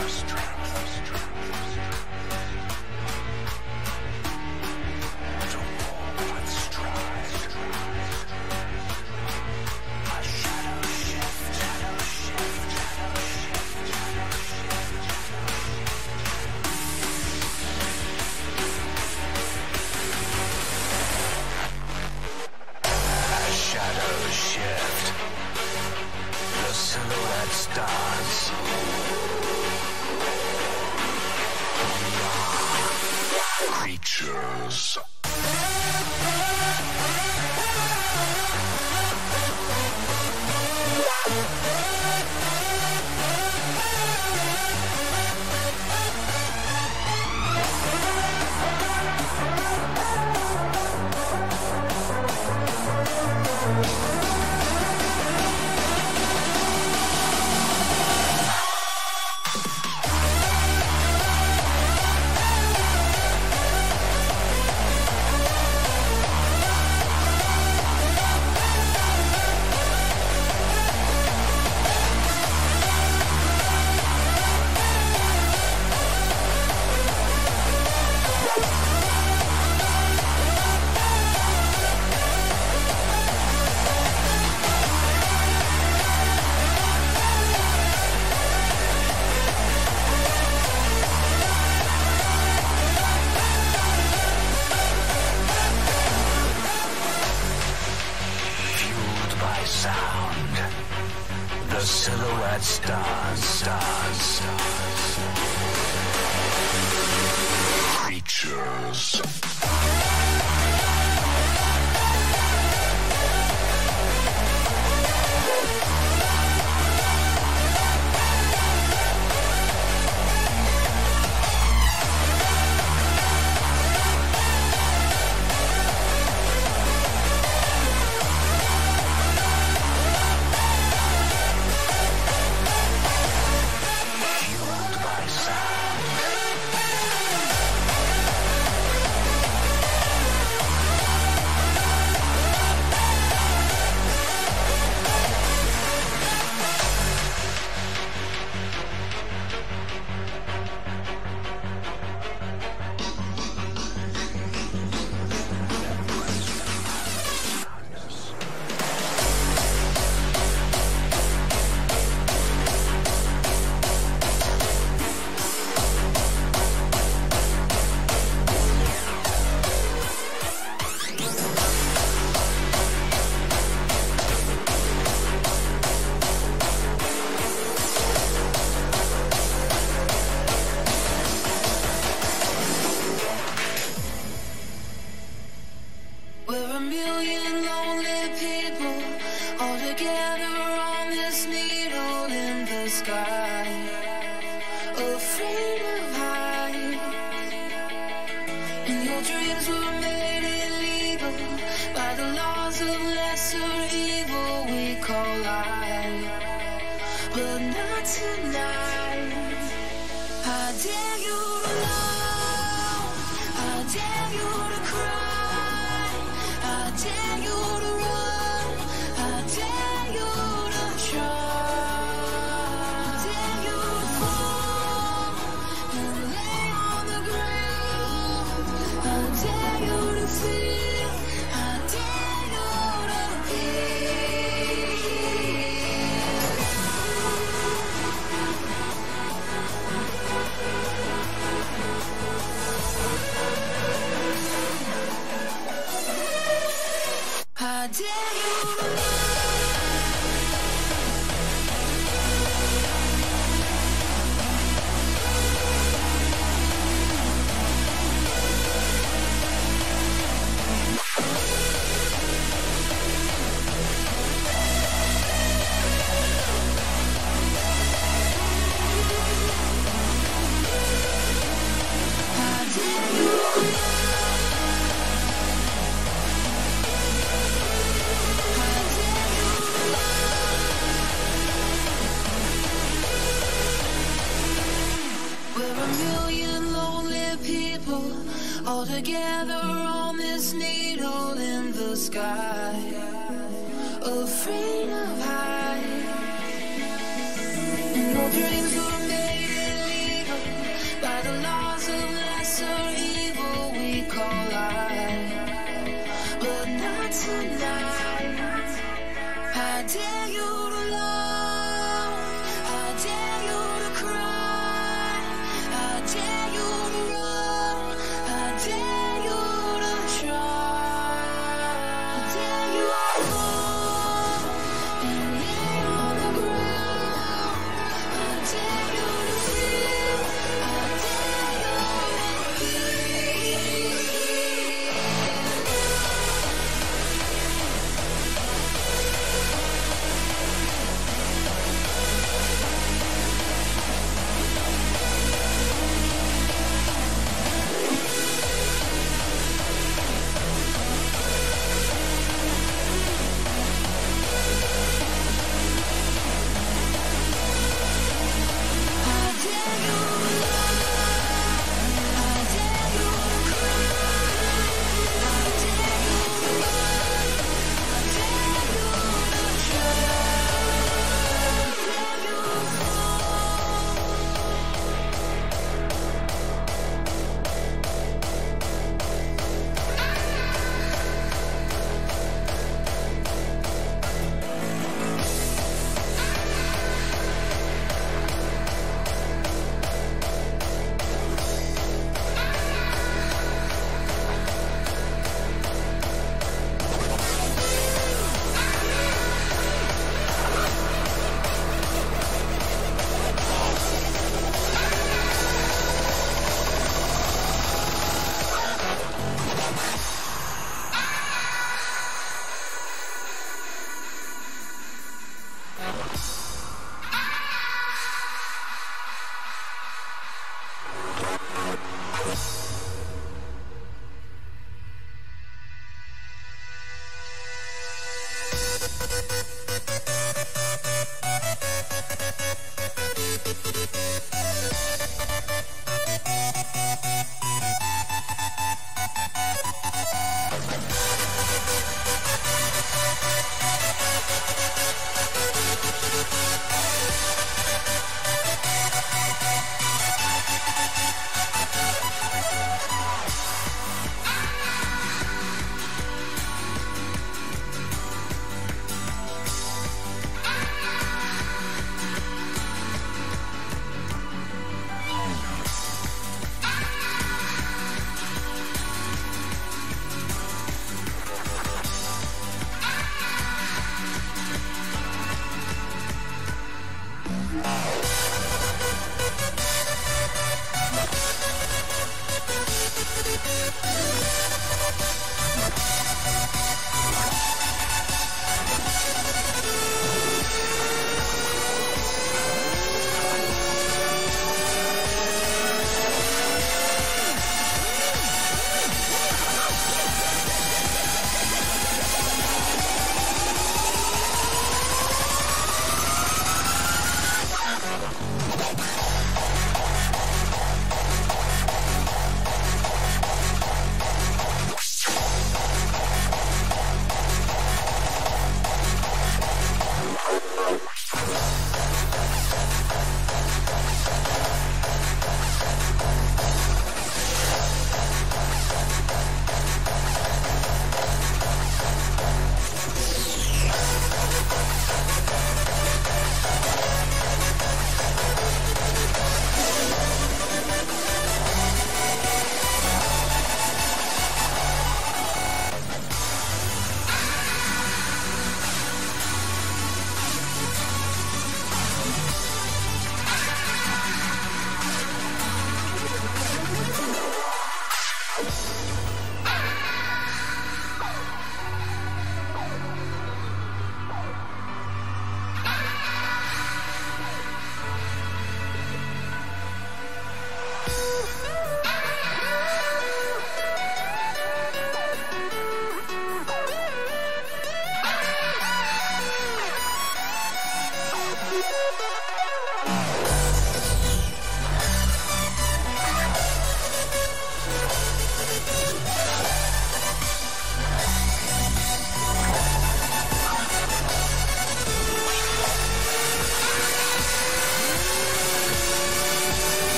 all together on this needle in the sky, afraid of heights, and your dreams were made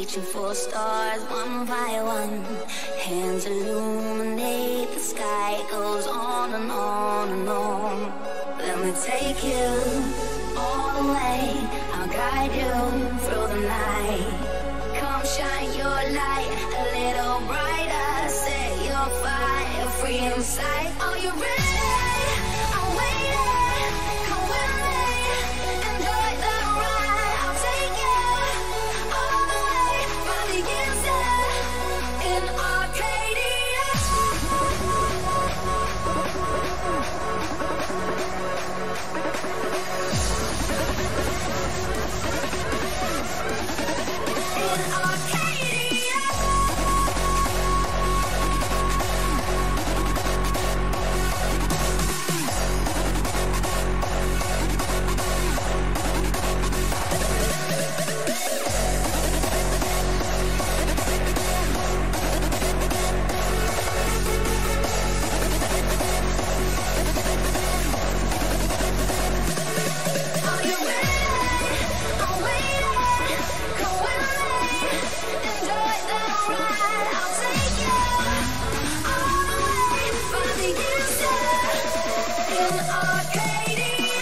reaching for stars one by one. Hands illuminate the sky, it goes on and on and on. Let me take you all the way, I'll guide you through the night. Come shine your light a little brighter, set your fire free inside. Are you ready? I'm waiting, come with me, enjoy the ride. I'll take you all the way from the inside in Arcadia. In Arcadia. Are you ready? I'm waiting. Come with me, enjoy the ride. I'll take you all the way from the inside in Arcadia.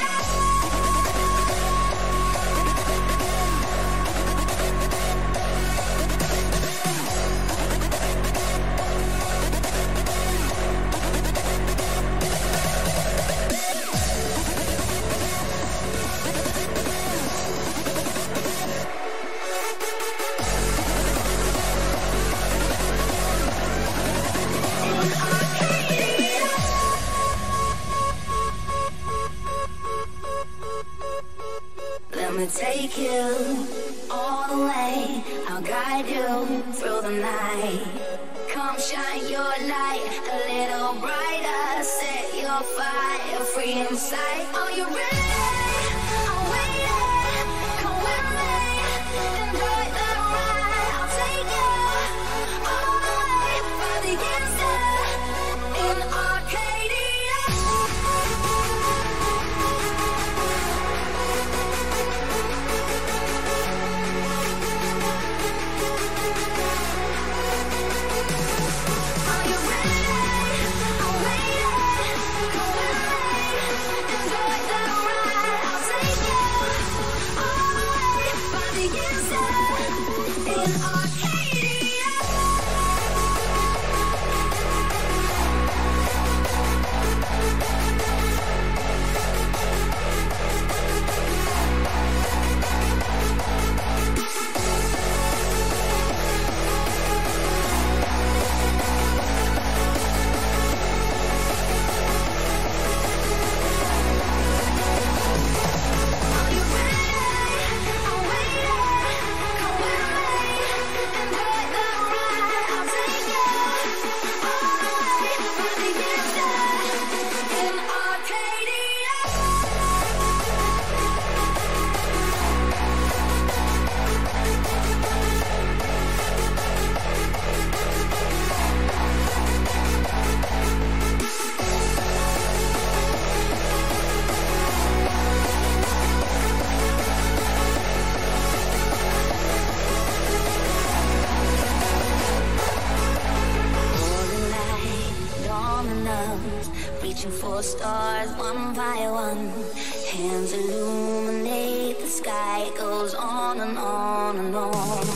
Let me take you all the way, I'll guide you through the night. Come shine your light a little brighter, set your fire free inside. Are you ready? I'm waiting, come with me, enjoy the ride. I'll take you all the way from the inside in Arcadia. Are you ready? I'm waiting. Come with me, enjoy the ride. I'll take you all the way from the inside in Arcadia. Are you ready? I'm waiting. Come with me, enjoy the ride. I'll take you all the way from the inside in Arcadia. For the light, dawning us, reaching for stars one by one. Hands illuminate the sky, it goes on and on and on.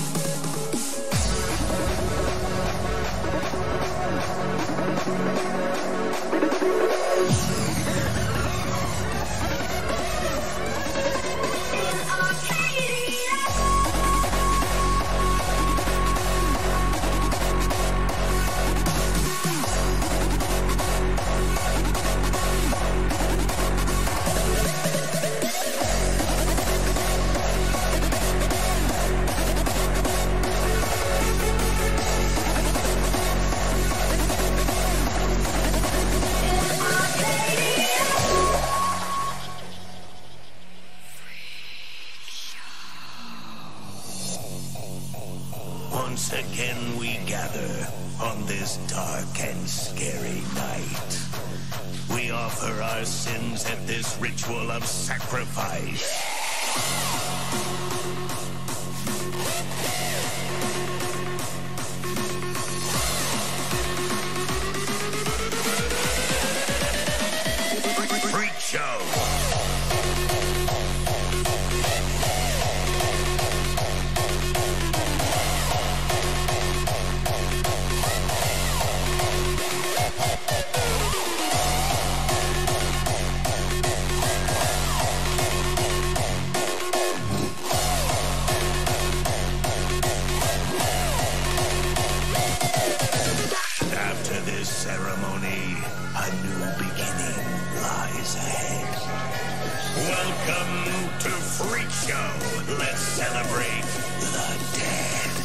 In Arcadia. Once again we gather on this dark and scary night. We offer our sins at this ritual of sacrifice. Welcome to Freak Show. Let's celebrate the dead.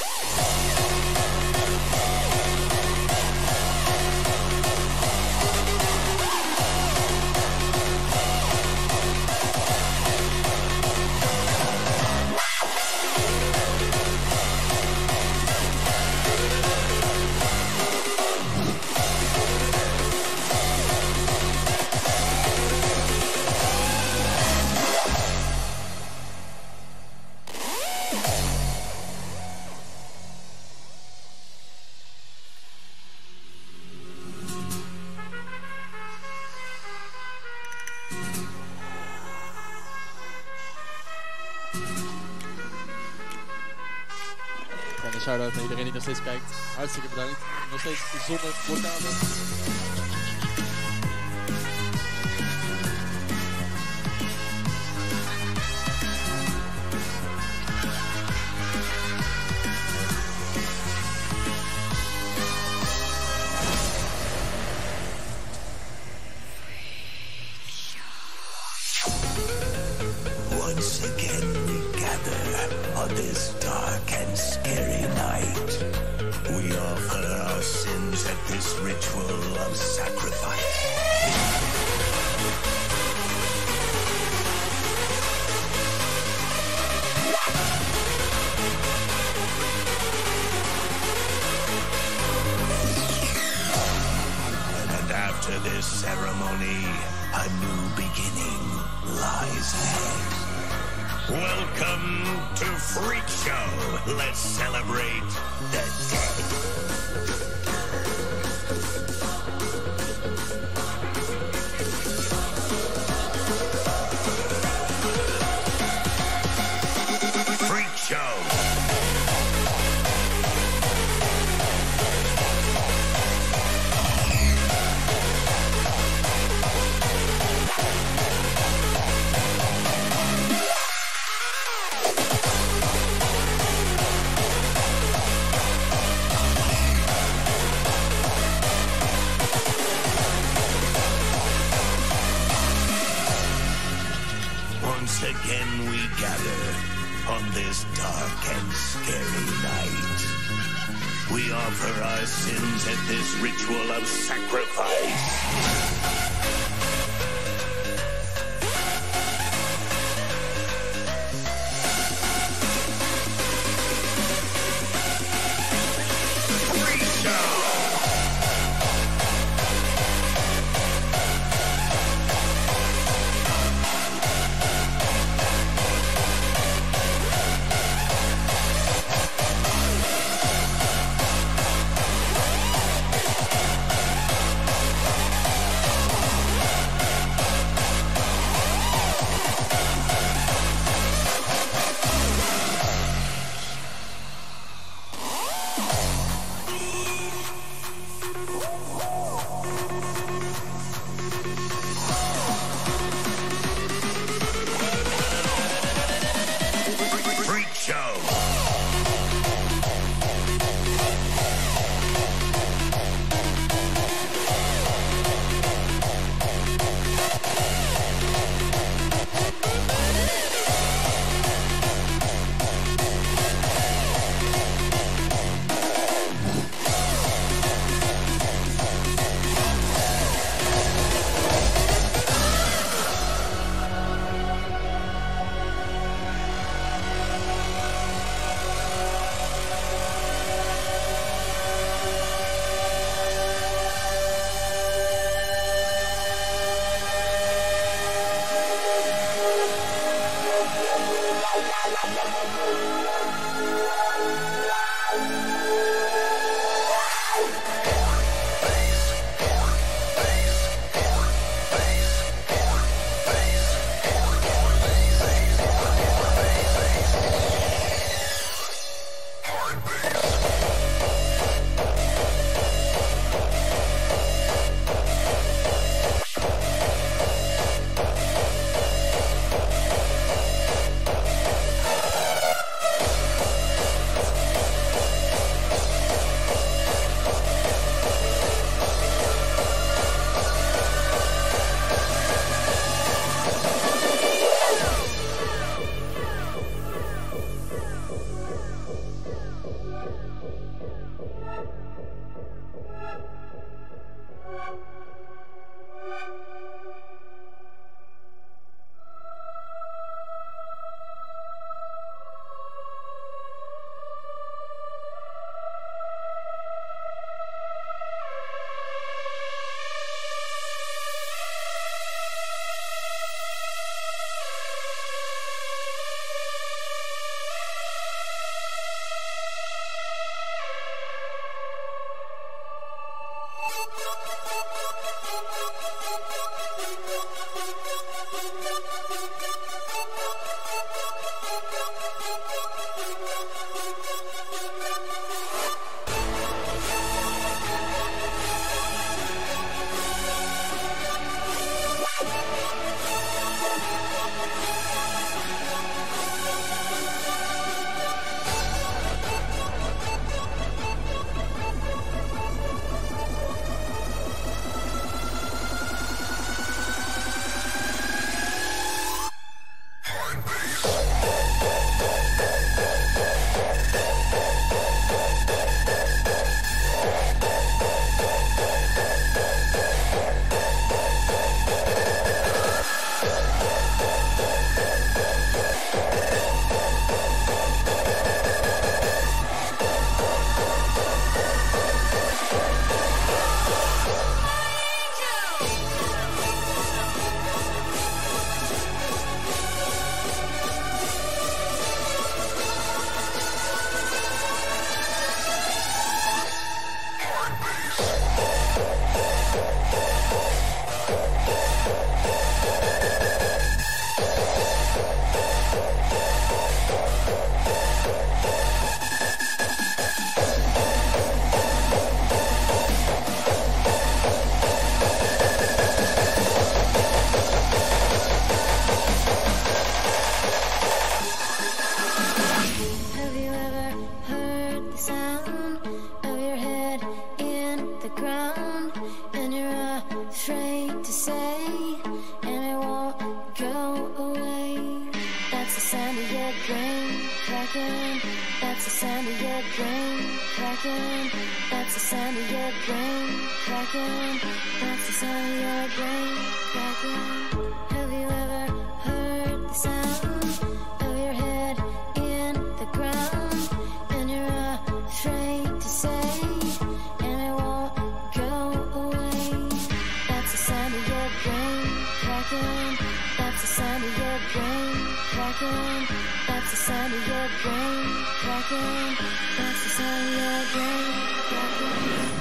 Shout-out naar iedereen die nog steeds kijkt. Hartstikke bedankt. Nog steeds zonder blokkade. Once again we gather on this dark and scary night. We offer our sins at this ritual of sacrifice. And after this ceremony, a new beginning lies ahead. Welcome to Freak Show. Let's celebrate the dead. Freak Show. Once again we gather on this dark and scary night. We offer our sins at this ritual of sacrifice. sound of your brain cracking. That's the sound of your brain cracking. That's the sound of your brain cracking. Have you ever heard the sound of your head in the ground? And you're afraid to say, and it won't go away. That's the sound of your brain cracking. That's the sound of your brain cracking. That's the sound of your brain cracking. That's the sound of your brain cracking.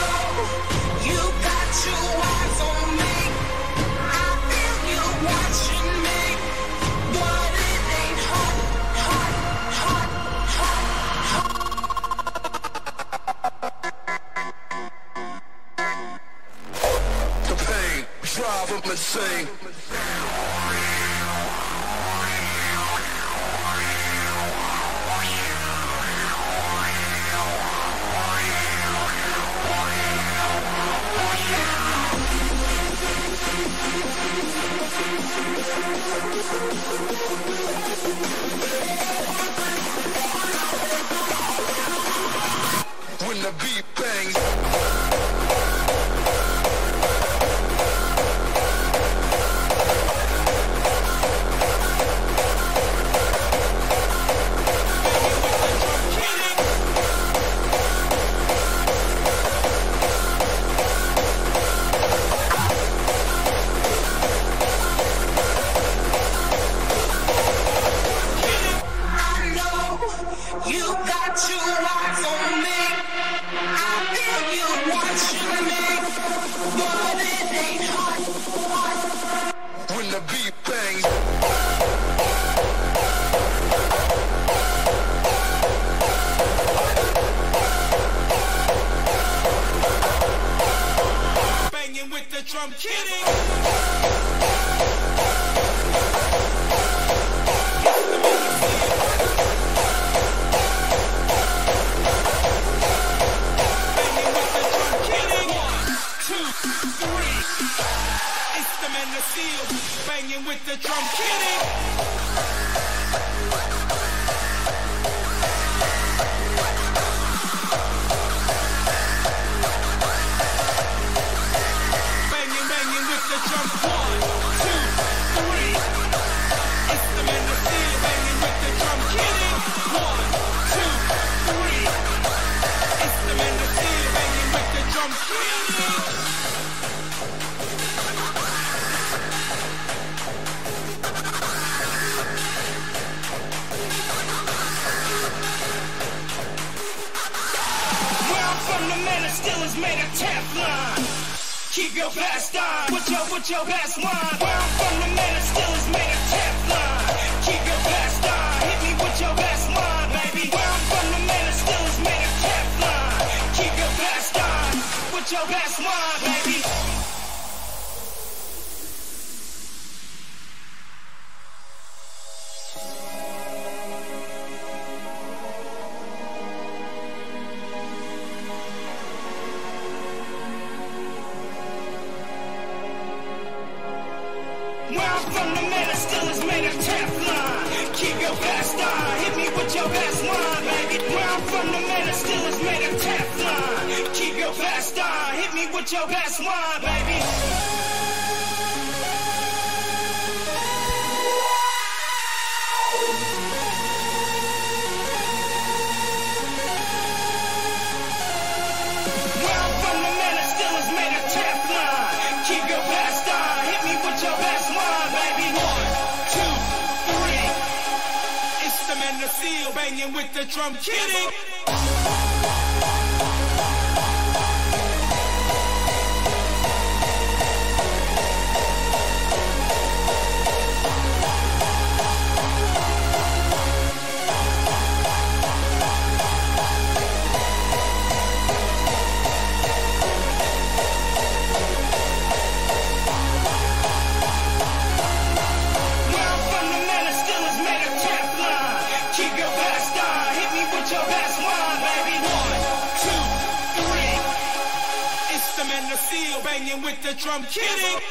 Watch drive 'em insane. When the beat bangs, when the beat bangs, banging with the drum kitty. Banging with the drum kitty. Banging with the drum. 1, 2, 3. It's the man of steel. Banging with the drum kitty. 1, 2, 3. It's the man of steel. Banging with the drum kitty. Still is made of Teflon. Keep your best on. With your best one. Where I'm from, the man that still is made of Teflon. Keep your best on. Hit me with your best one, baby. Where I'm from, the man that still is made of Teflon. Keep your best on. With your best one, baby. From the man that still is made of Teflon. Keep your best on. Hit me with your best one, baby. Where I'm from, the man that still is made of Teflon. Keep your best on. Hit me with your best one, baby. Where I'm from, the man that still is made of Teflon. Keep your best on. Hit me with your best one, baby. 1, 2, 3. It's the man of steel banging with the drum kitty. Steel banging with the drum kitty.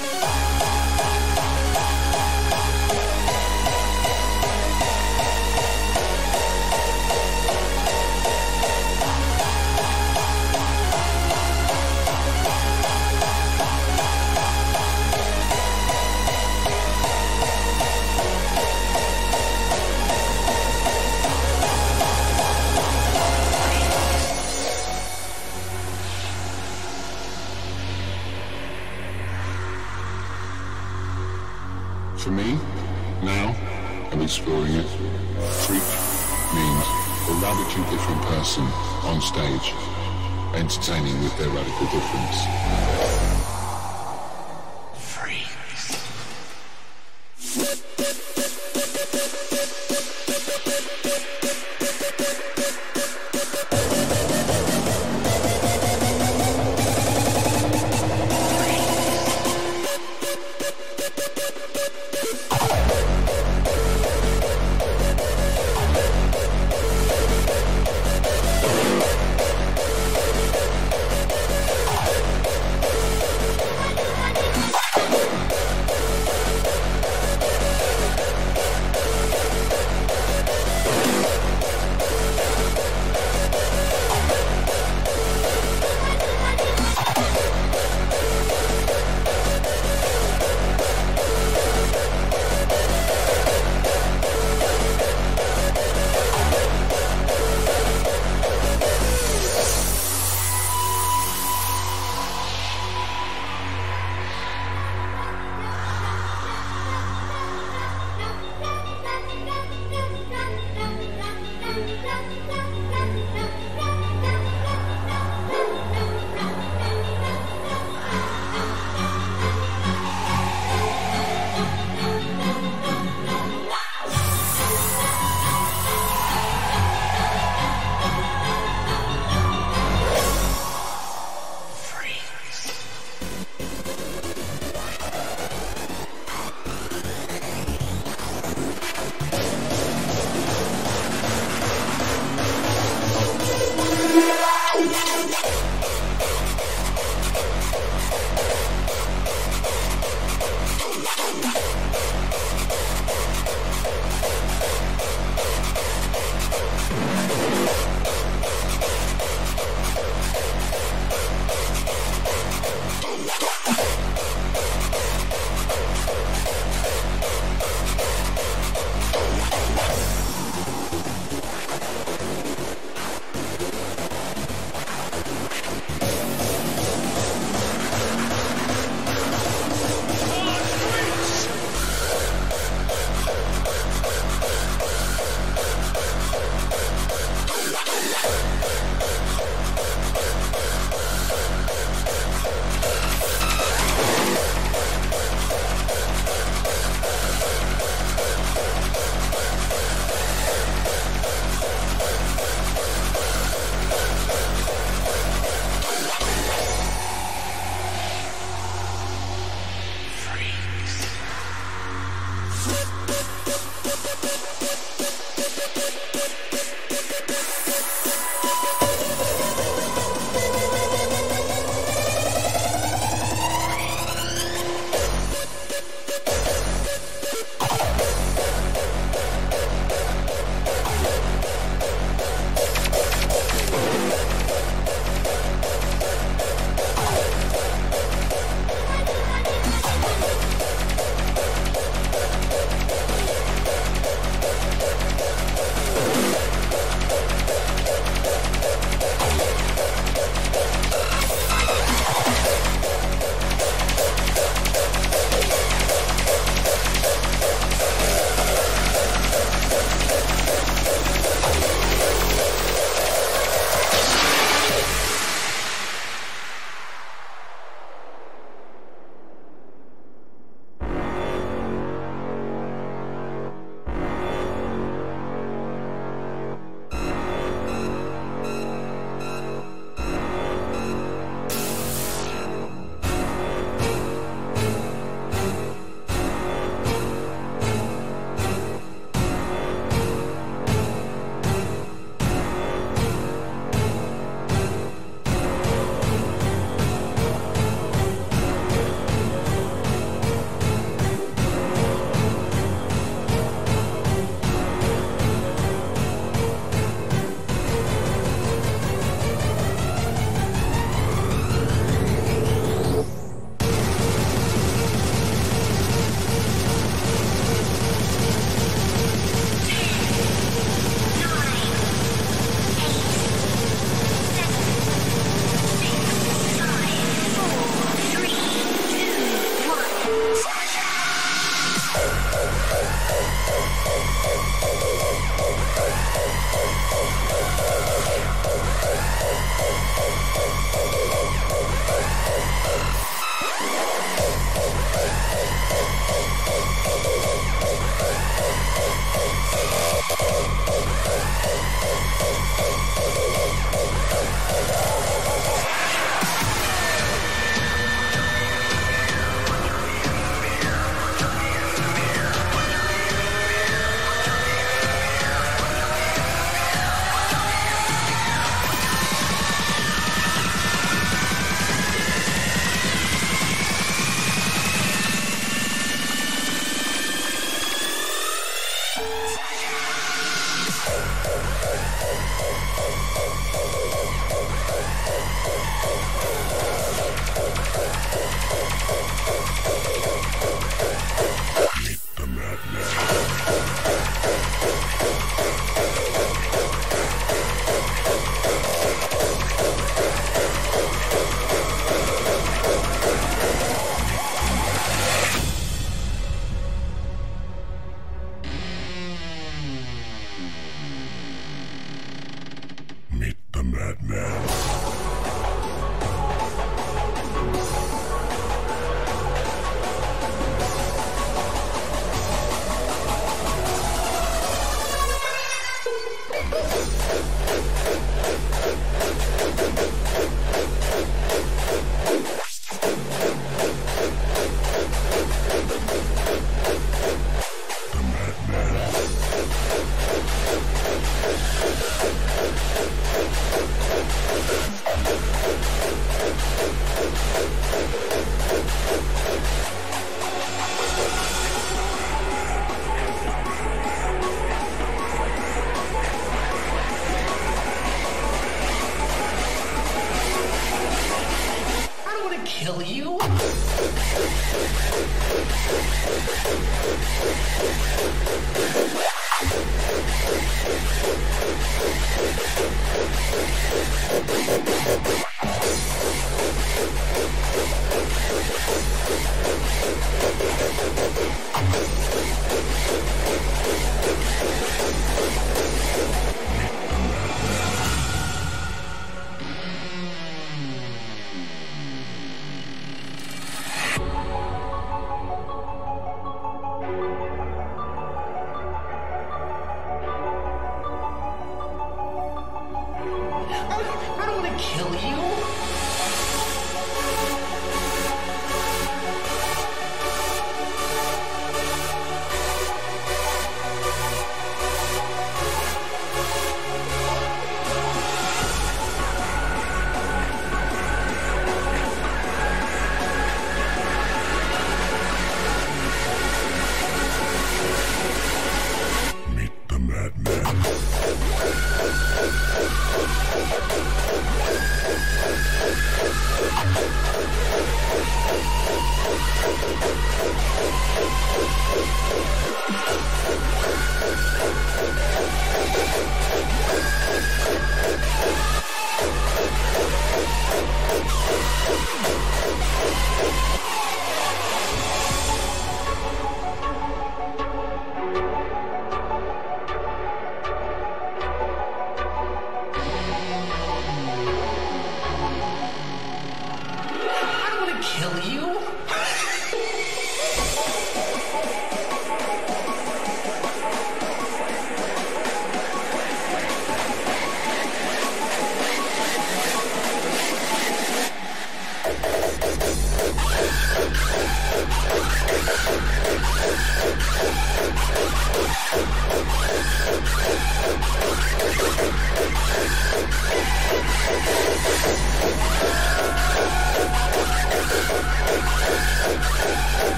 For me, now, I'm exploring it. Freak means a radically different person on stage, entertaining with their radical difference. kill you? I don't want to kill you. Meet the madman. I don't want to kill you.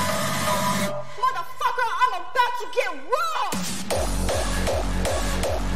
Motherfucker, I'm about to get raw!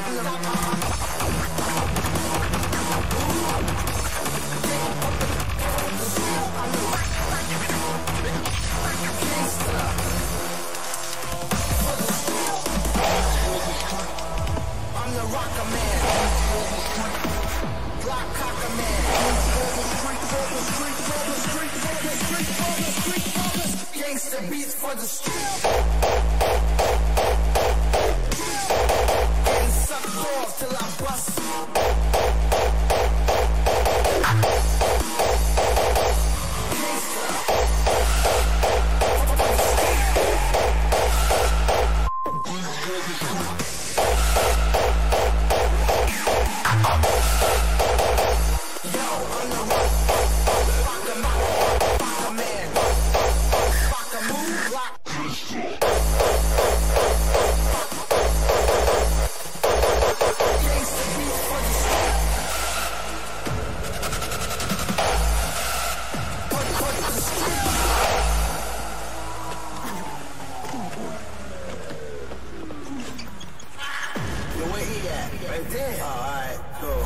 Gangsta beats for the street. Getting sucked off till I bust. Right there. All right, cool.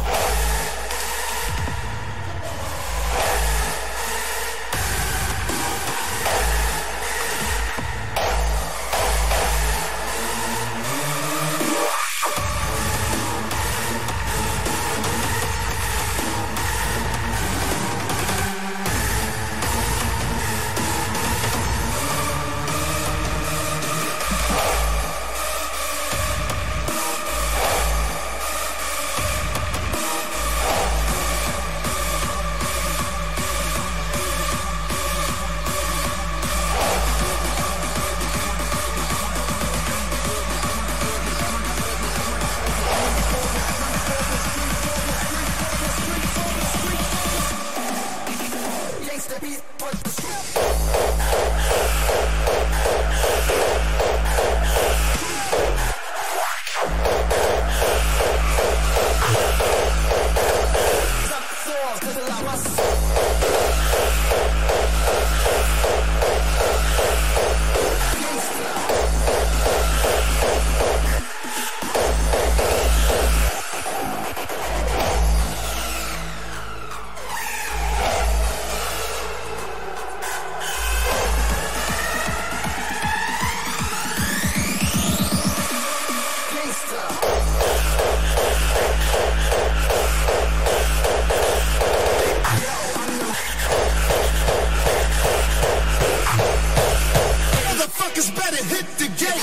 Motherfuckers better hit the gate.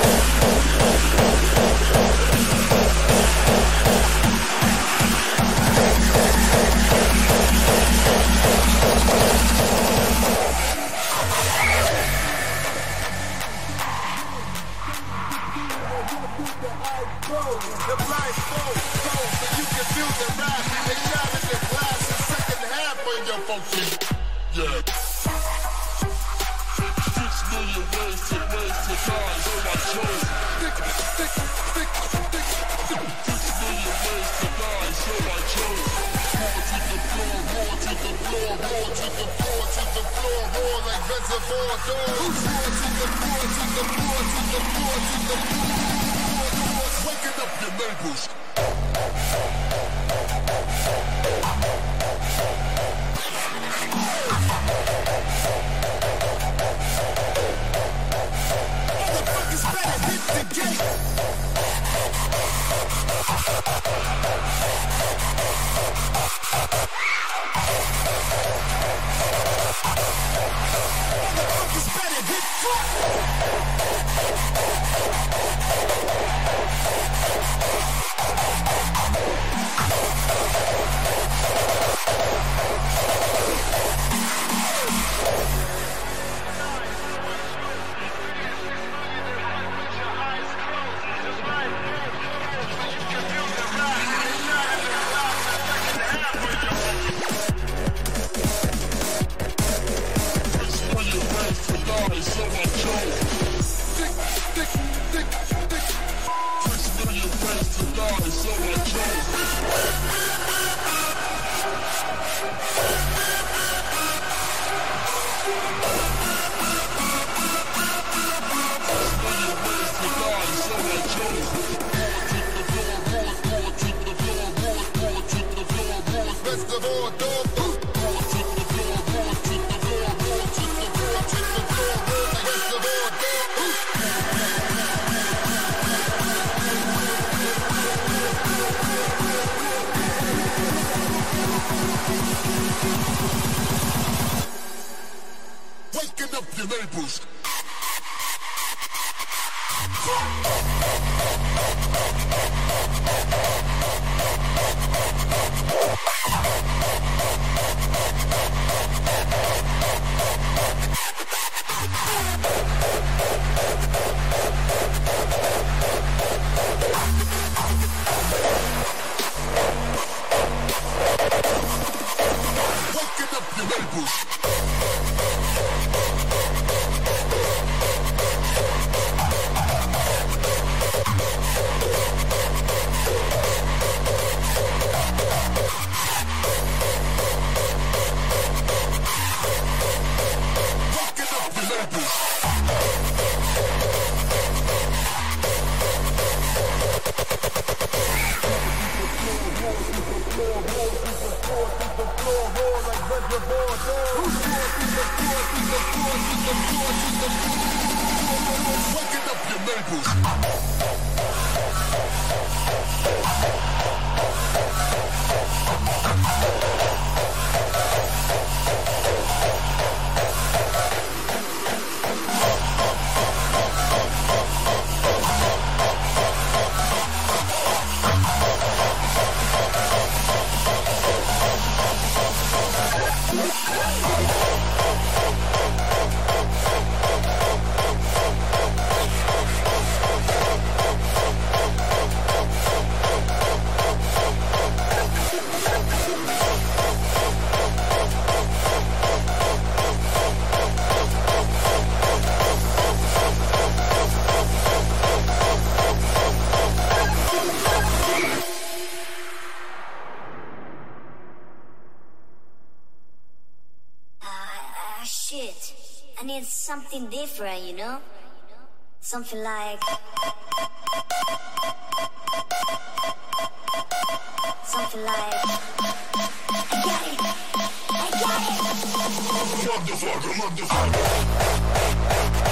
The blindfold, so you can feel the rap. They shot in the glass the second half of your function. Yeah. 6 million ways to die, so I chose. 6 million ways to die, so I chose. Roar to the floor, roar to the floor, roar to the floor, to the floor, roar like reservoir dogs. Roar to the floor, to the floor, to the floor, to the floor. Waking up your neighbors. Motherfuckers better hit the gate. Motherfuckers better hit So I chose. your labels. Fucking up your labels. Fucking up your labels. Shit, I need something different, you know? Something like... Something like... I got it! I got it! Motherfucker, motherfucker.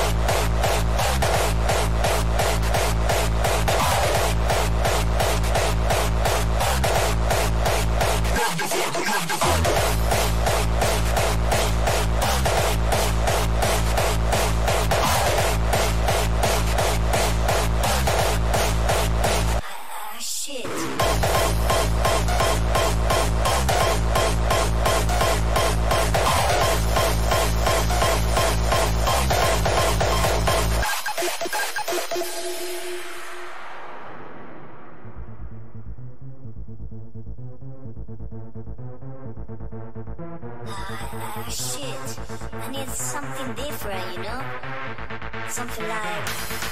Shit, I need something different, you know? Something like...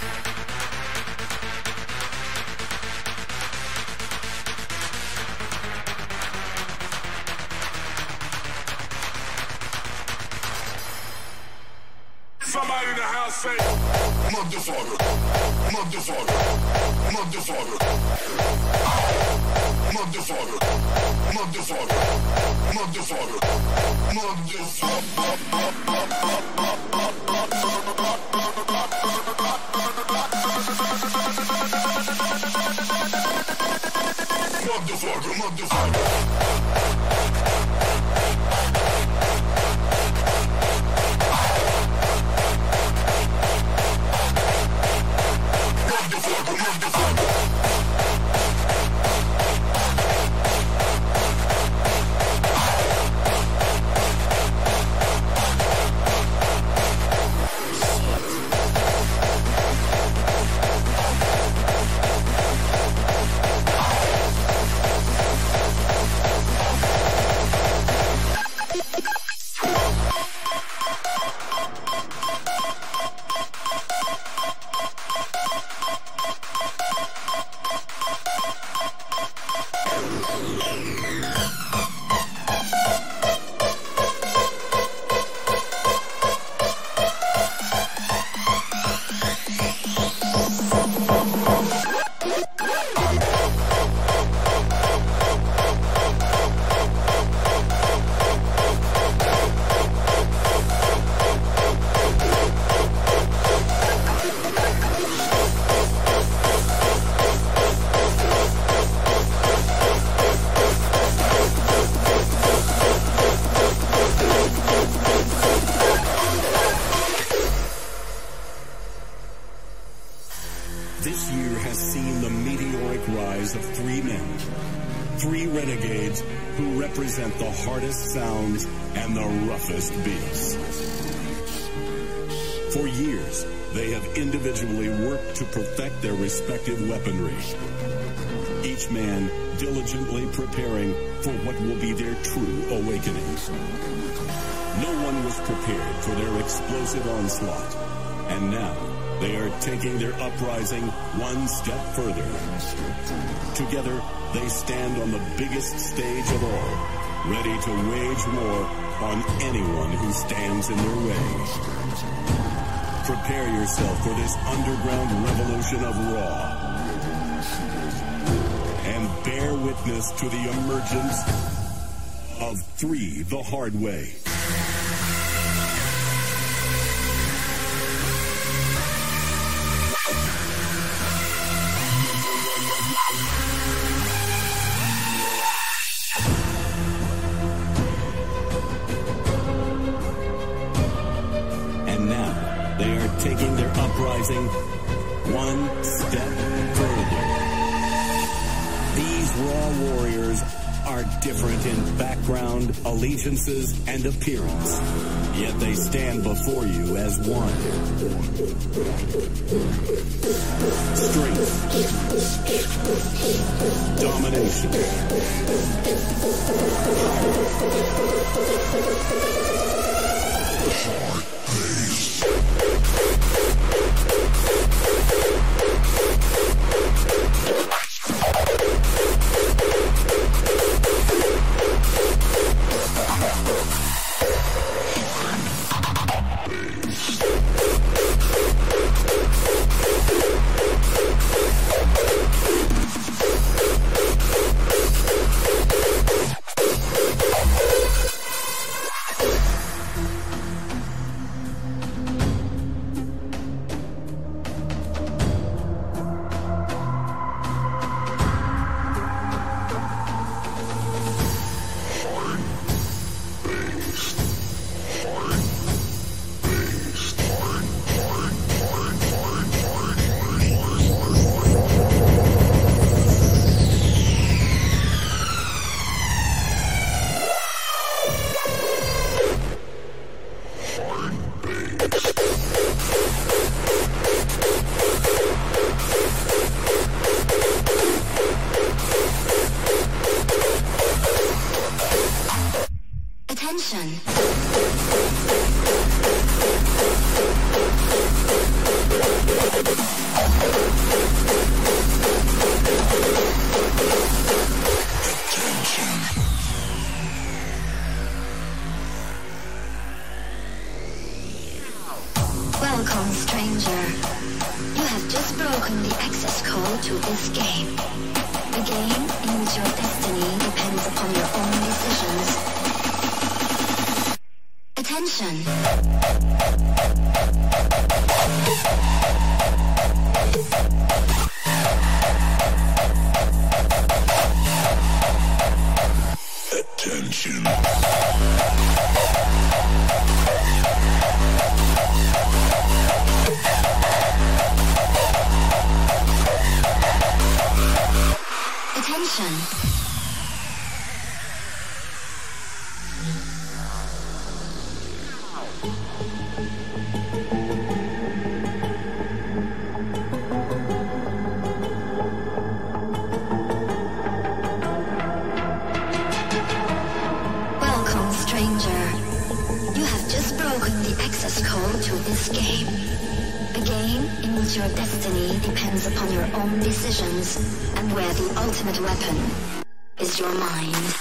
Somebody in the house say, motherfucker, motherfucker, motherfucker, motherfucker, motherfucker, motherfucker, motherfucker, motherfucker. lives of three men, three renegades who represent the hardest sounds and the roughest beats. For years, they have individually worked to perfect their respective weaponry, each man diligently preparing for what will be their true awakening. No one was prepared for their explosive onslaught, and now they are taking their uprising one step further. Together, they stand on the biggest stage of all, ready to wage war on anyone who stands in their way. Prepare yourself for this underground revolution of Raw, and bear witness to the emergence of Three the Hard Way. And now, they are taking their uprising one step further. These Raw warriors are different in background, allegiances, and appearance, yet they stand before you as one. Strength, domination, Welcome, stranger. You have just broken the access code to this game. A game in which your destiny depends upon your own decisions. Attention. Attention. Attention. Welcome, stranger. You have just broken the access code to this game. A game in which your destiny depends upon your own decisions, and where the ultimate weapon is your mind.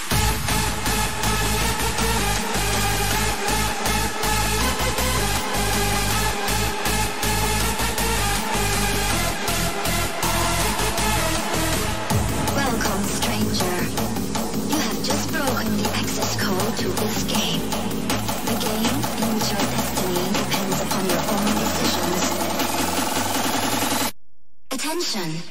Welcome, stranger. You have just broken the access code to this game. A game in which your destiny depends upon your own decisions. Attention.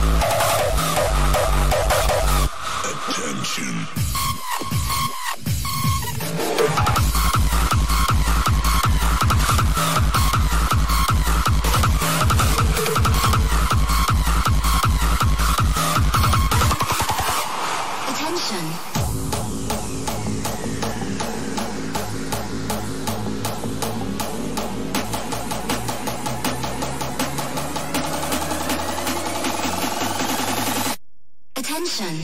Attention. Attention.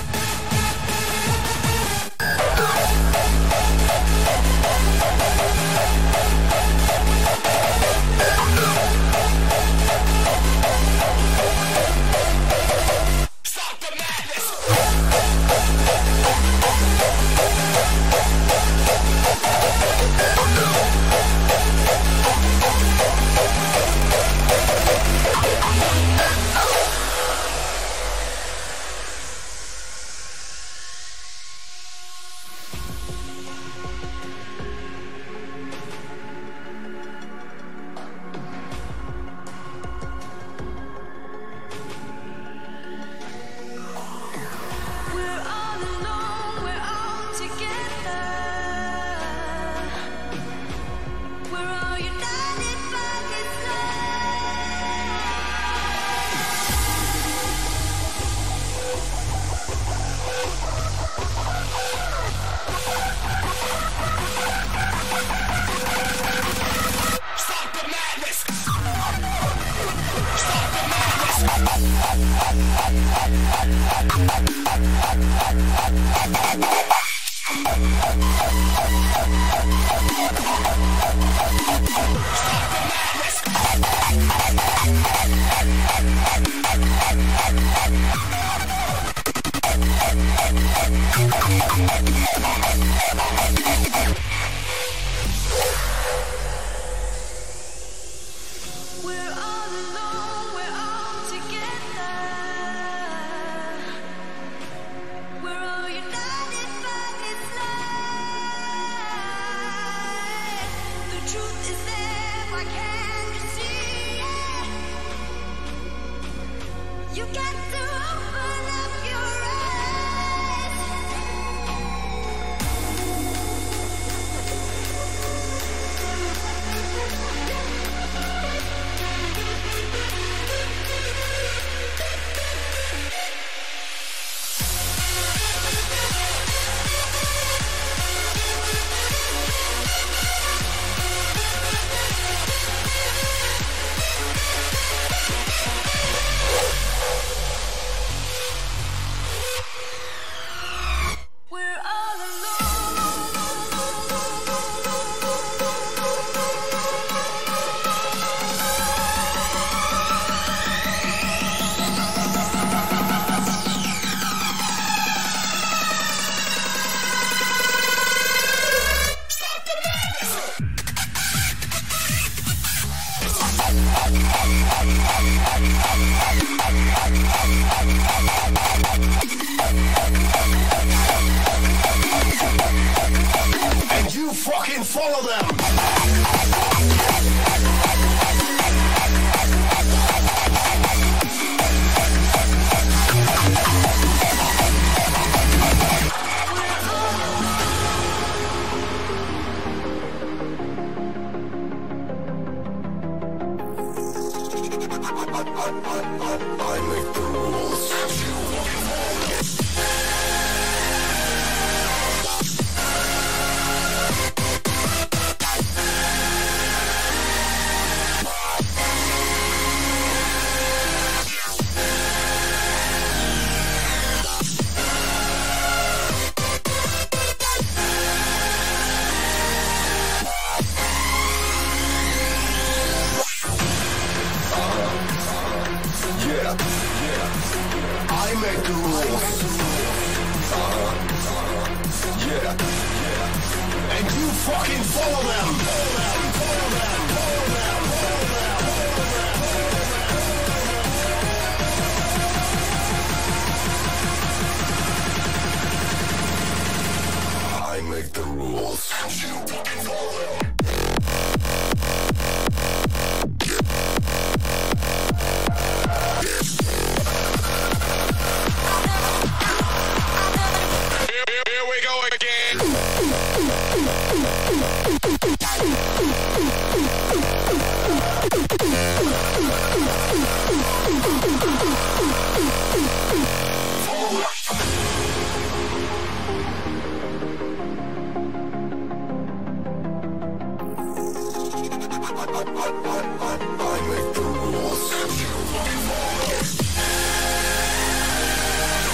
And you fucking follow them. I make the rules. I make the rules. And you fucking follow them. I make the rules. And you fucking follow them. Here we go again. I make the rules.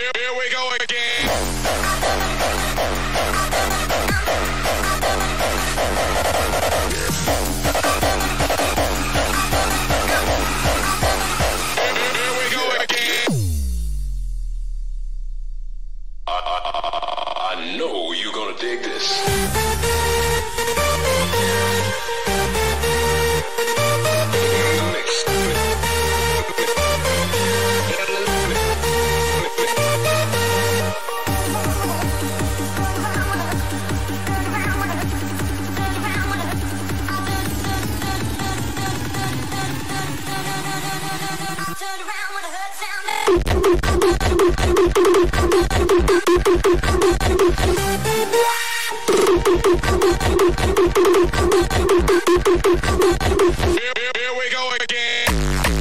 Here we go again. Here we go again. I know you're gonna dig this. Here we go again.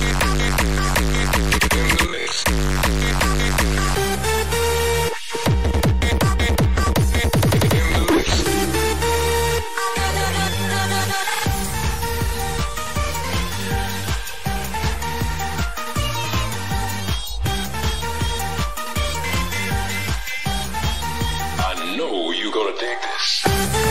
I know you're gonna dig this.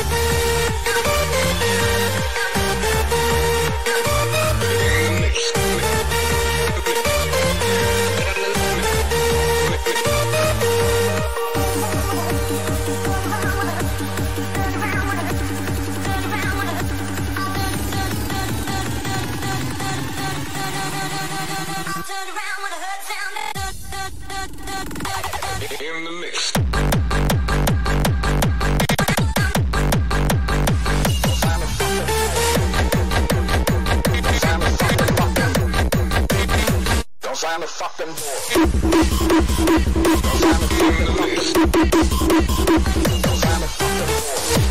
In the mix. Don't sign the fucking door. Don't sign the fucking door. Don't sign the fucking door.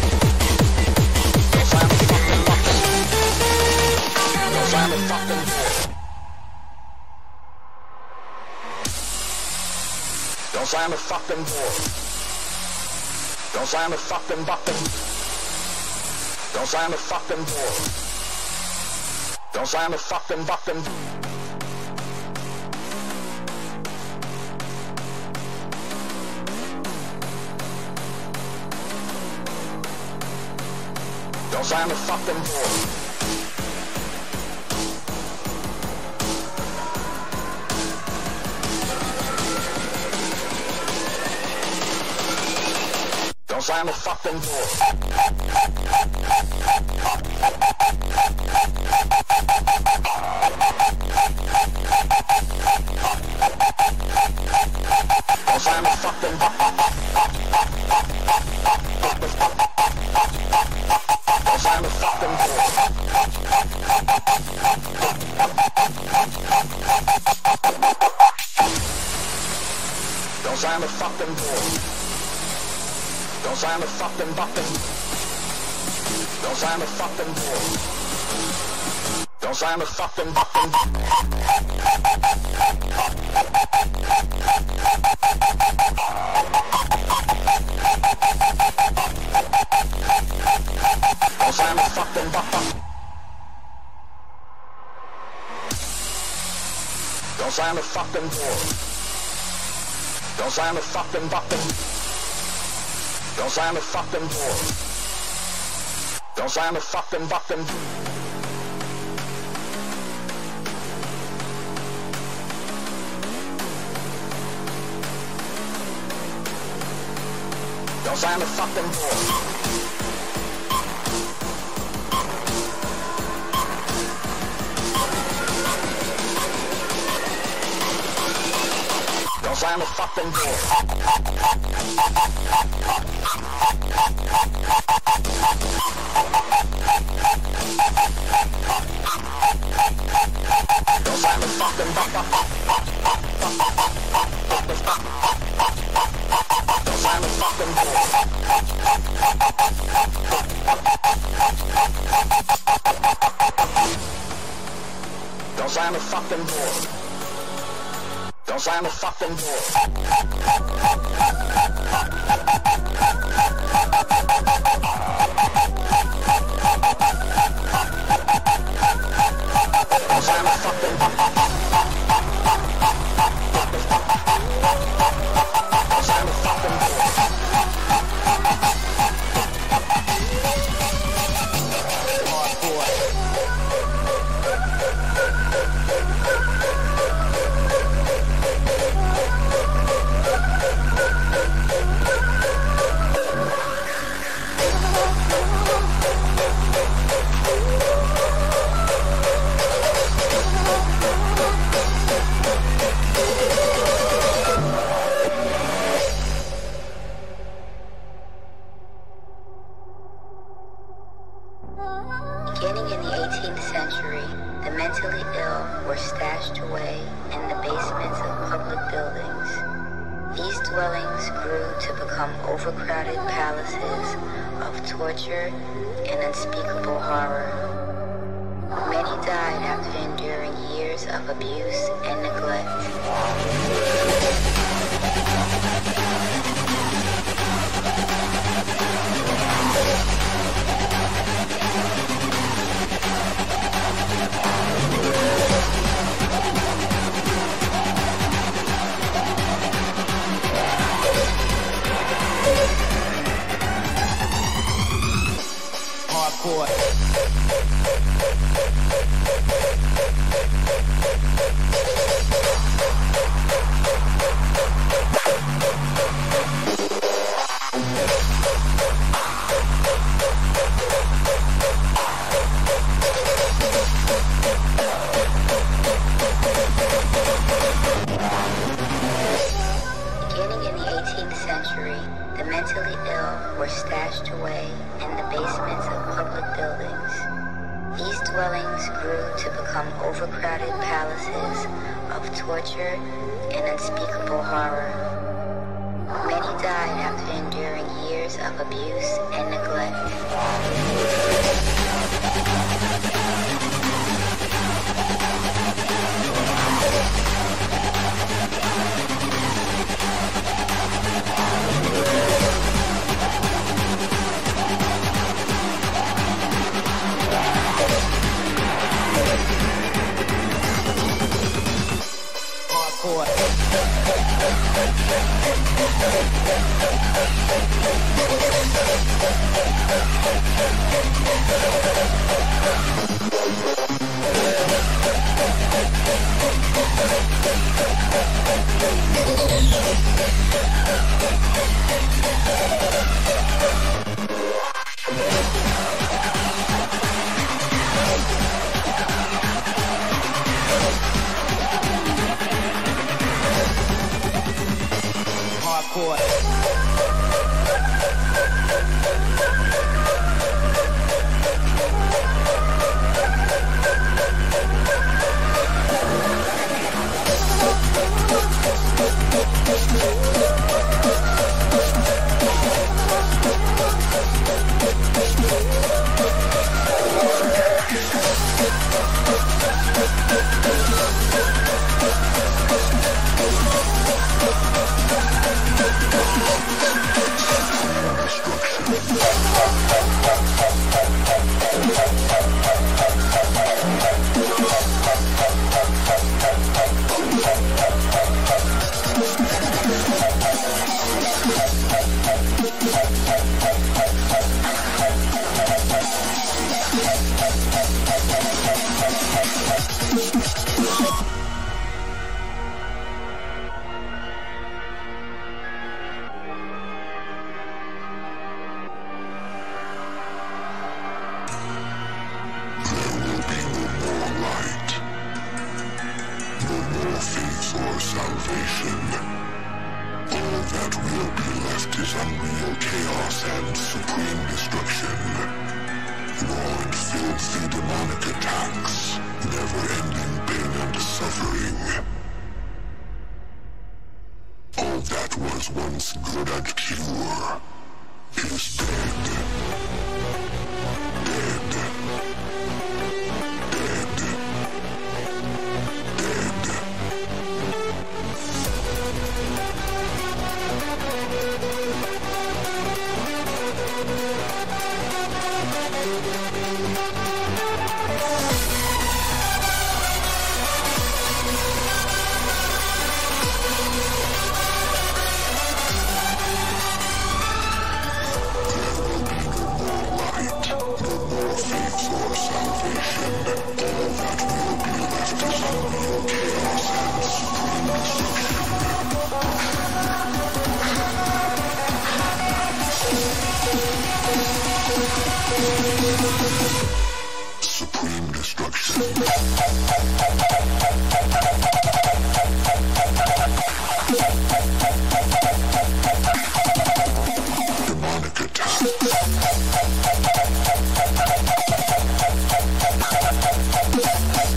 Don't sign the fucking door. Don't sign the fucking door. Don't sign the fucking door. Don't sign the fucking button. Don't sign the fucking door. Don't sign the fucking button. Don't sign the fucking door. Don't sign the fucking door. Don't sign the fucking door. Don't sign the fucking door. Don't sign the fucking door. Don't sign the fucking button. Don't sign the fucking door. Don't sign the fucking button. Don't sign the fucking button. Don't sign the fucking door. Don't sign the fucking button. Don't sign the fucking door. Don't sign the fucking button. Don't sign the fucking door. Don't sign the fucking door. Don't sign the fucking button. Don't sign the fucking door. Don't sign the fucking door. Don't sign the fucking door. Don't sign the fucking door. These dwellings grew to become overcrowded palaces of torture and unspeakable horror. Many died after enduring years of abuse and neglect. Beginning in the 18th century, the mentally ill were stashed away in the basements of public buildings. These dwellings grew to become overcrowded palaces of torture and unspeakable horror. Many died after enduring years of abuse and neglect. Supreme destruction. Demonic attack.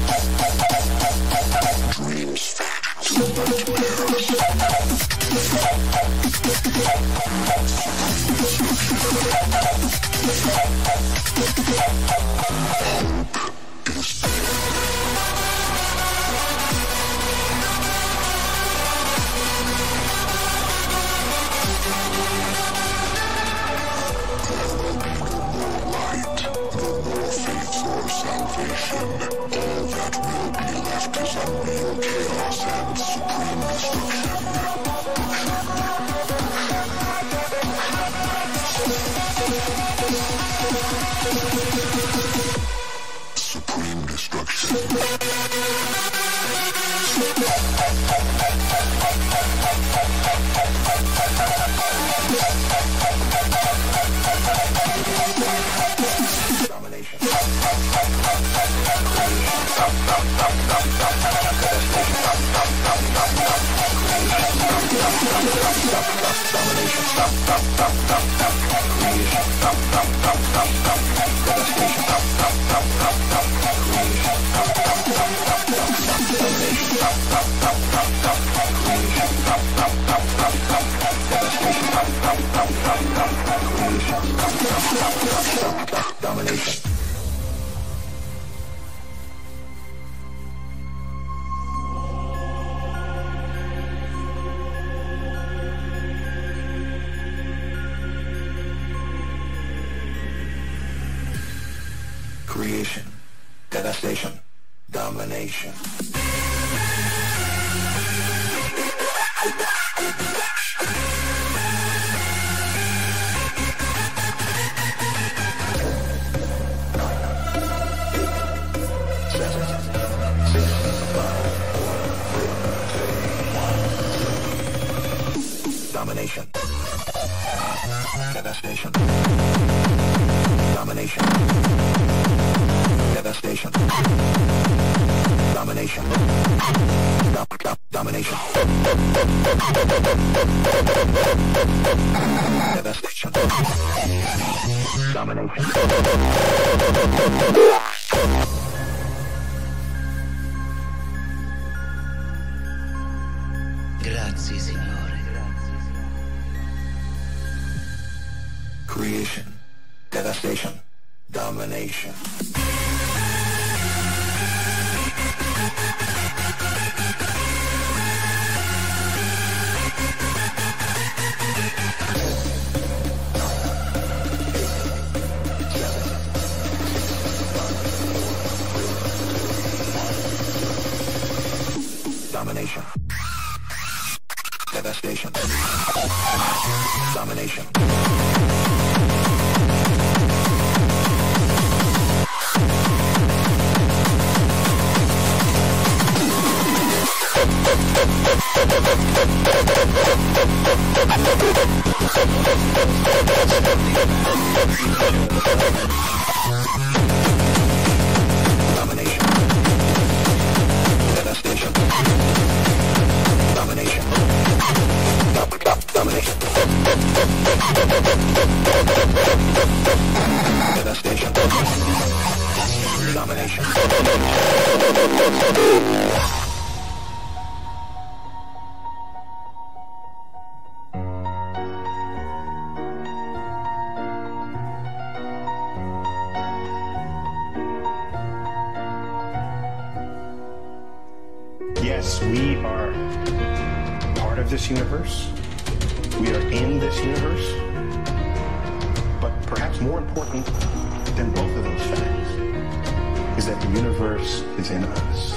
Dreams fade to nightmares. Creation, devastation, domination. Domination. Devastation. Domination. Devastation. Domination. Domination. Devastation. Domination. Grazie, Signore. Creation, devastation, domination. Domination. Devastation. Domination. Domination. Devastation. Domination. Domination. Devastation. Domination. Yes, we are part of this universe. We are in this universe. But perhaps more important than both of those facts is that the universe is in us.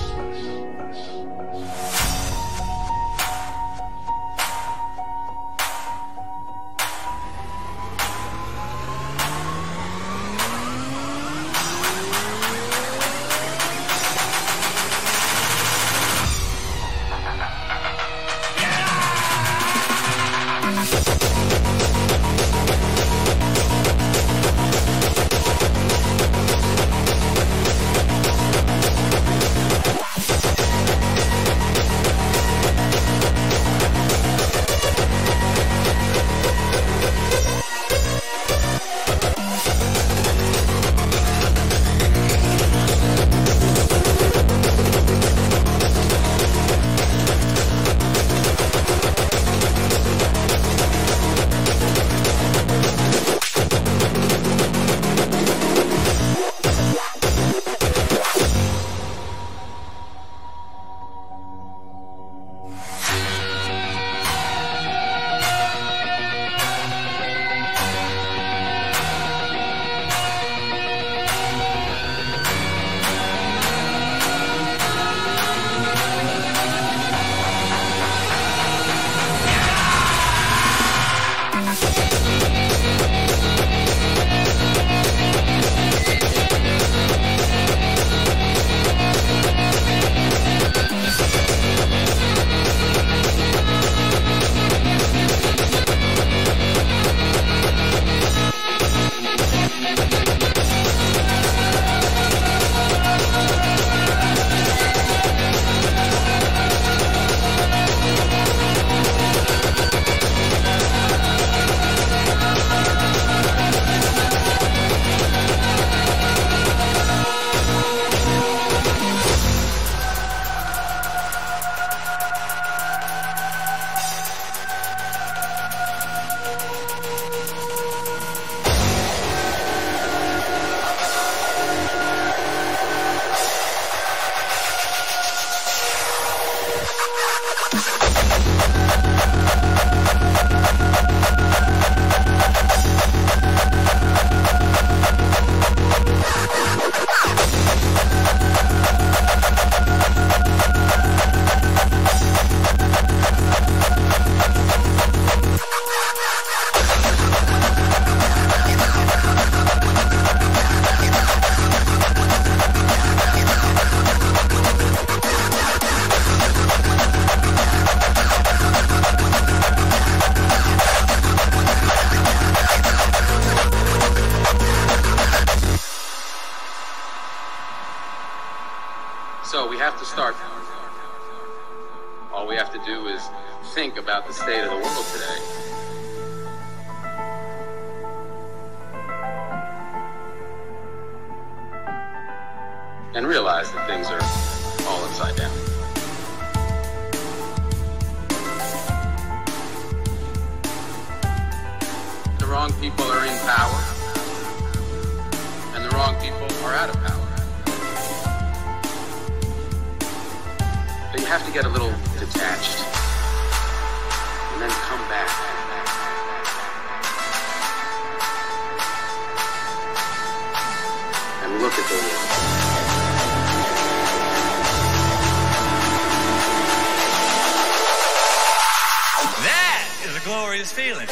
have to start. All we have to do is think about the state of the world today. And realize that things are all upside down. The wrong people are in power, and the wrong people are out of power. But you have to get a little detached, and then come back. And look at the world. That is a glorious feeling.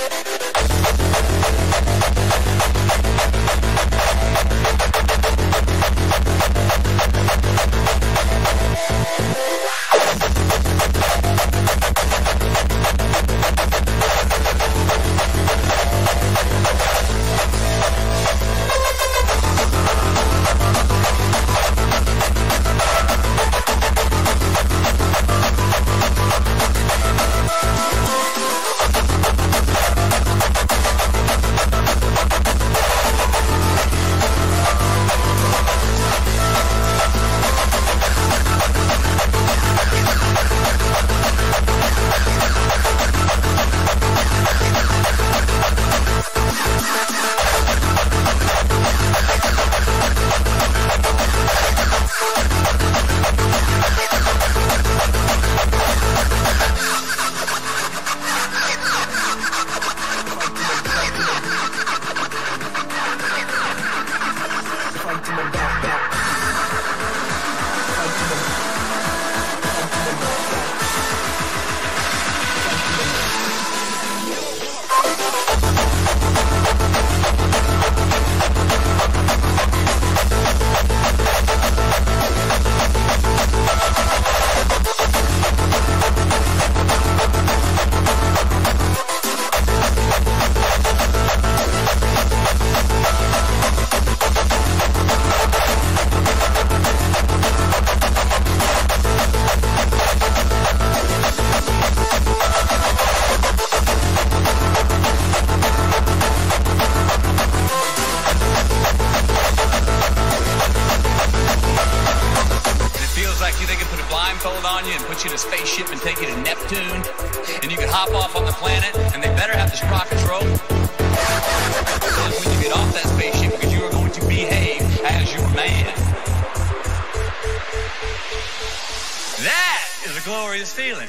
You in a spaceship and take you to Neptune, and you can hop off on the planet, and they better have the sprockets roll. Because when you get off that spaceship, because you are going to behave as your man. That is a glorious feeling.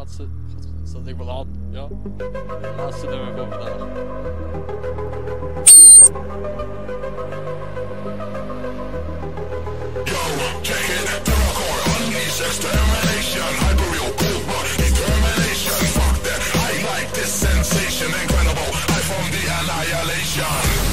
laatste... God, staat ik wel aan? Ja. Laatste nummer van vandaag. Yo, check it, Terrorcore unleash extermination, hyperreal cold blood determination. Fuck that, I like this sensation, incredible, I from the annihilation.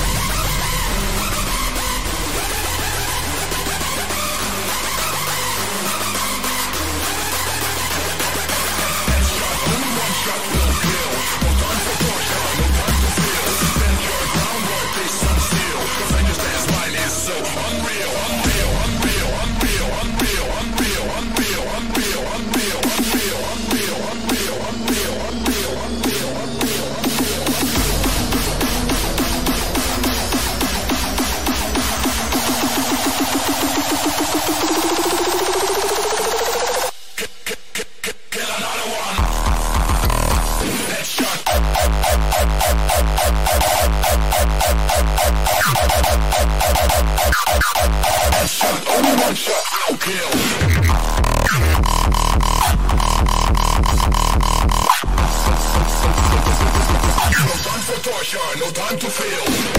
No time to feel.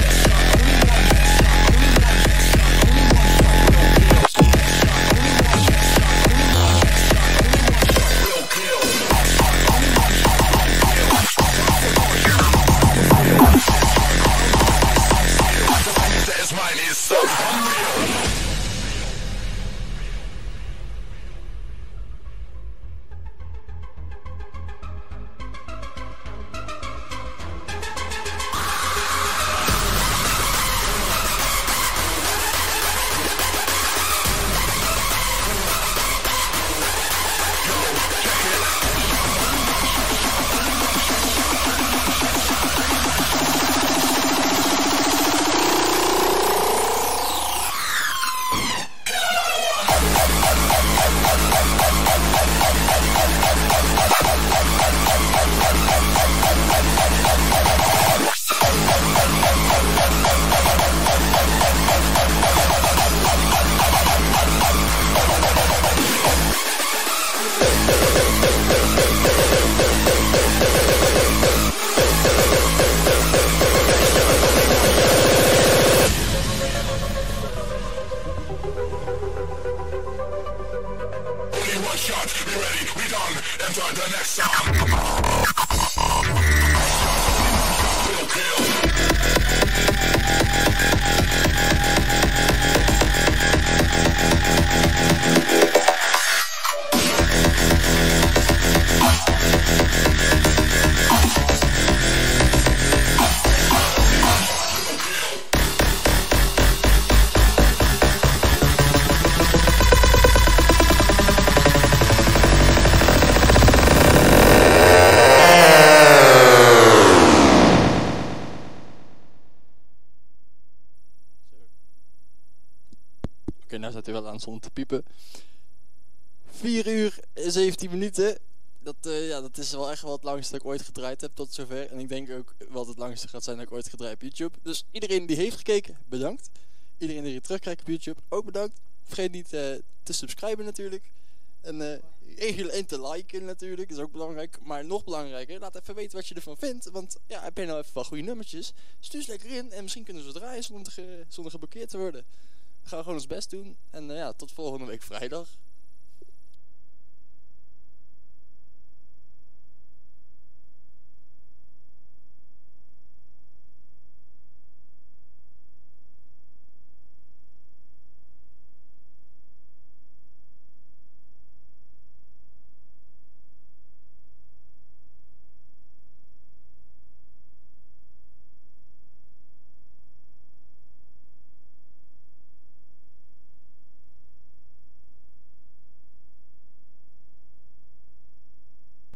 Oké, nou staat hij wel aan zonder te piepen. 4 uur en 17 minuten. Dat is wel echt wel het langste dat ik ooit gedraaid heb tot zover. En ik denk ook wat het langste gaat zijn dat ik ooit gedraaid op YouTube. Dus iedereen die heeft gekeken, bedankt. Iedereen die terugkijkt op YouTube, ook bedankt. Vergeet niet te subscriben natuurlijk. En te liken natuurlijk, is ook belangrijk. Maar nog belangrijker, laat even weten wat je ervan vindt. Want ja, heb je nou even wat goede nummertjes? Stuur ze lekker in en misschien kunnen ze draaien zonder geblokkeerd te worden. We gaan gewoon ons best doen. En tot volgende week vrijdag.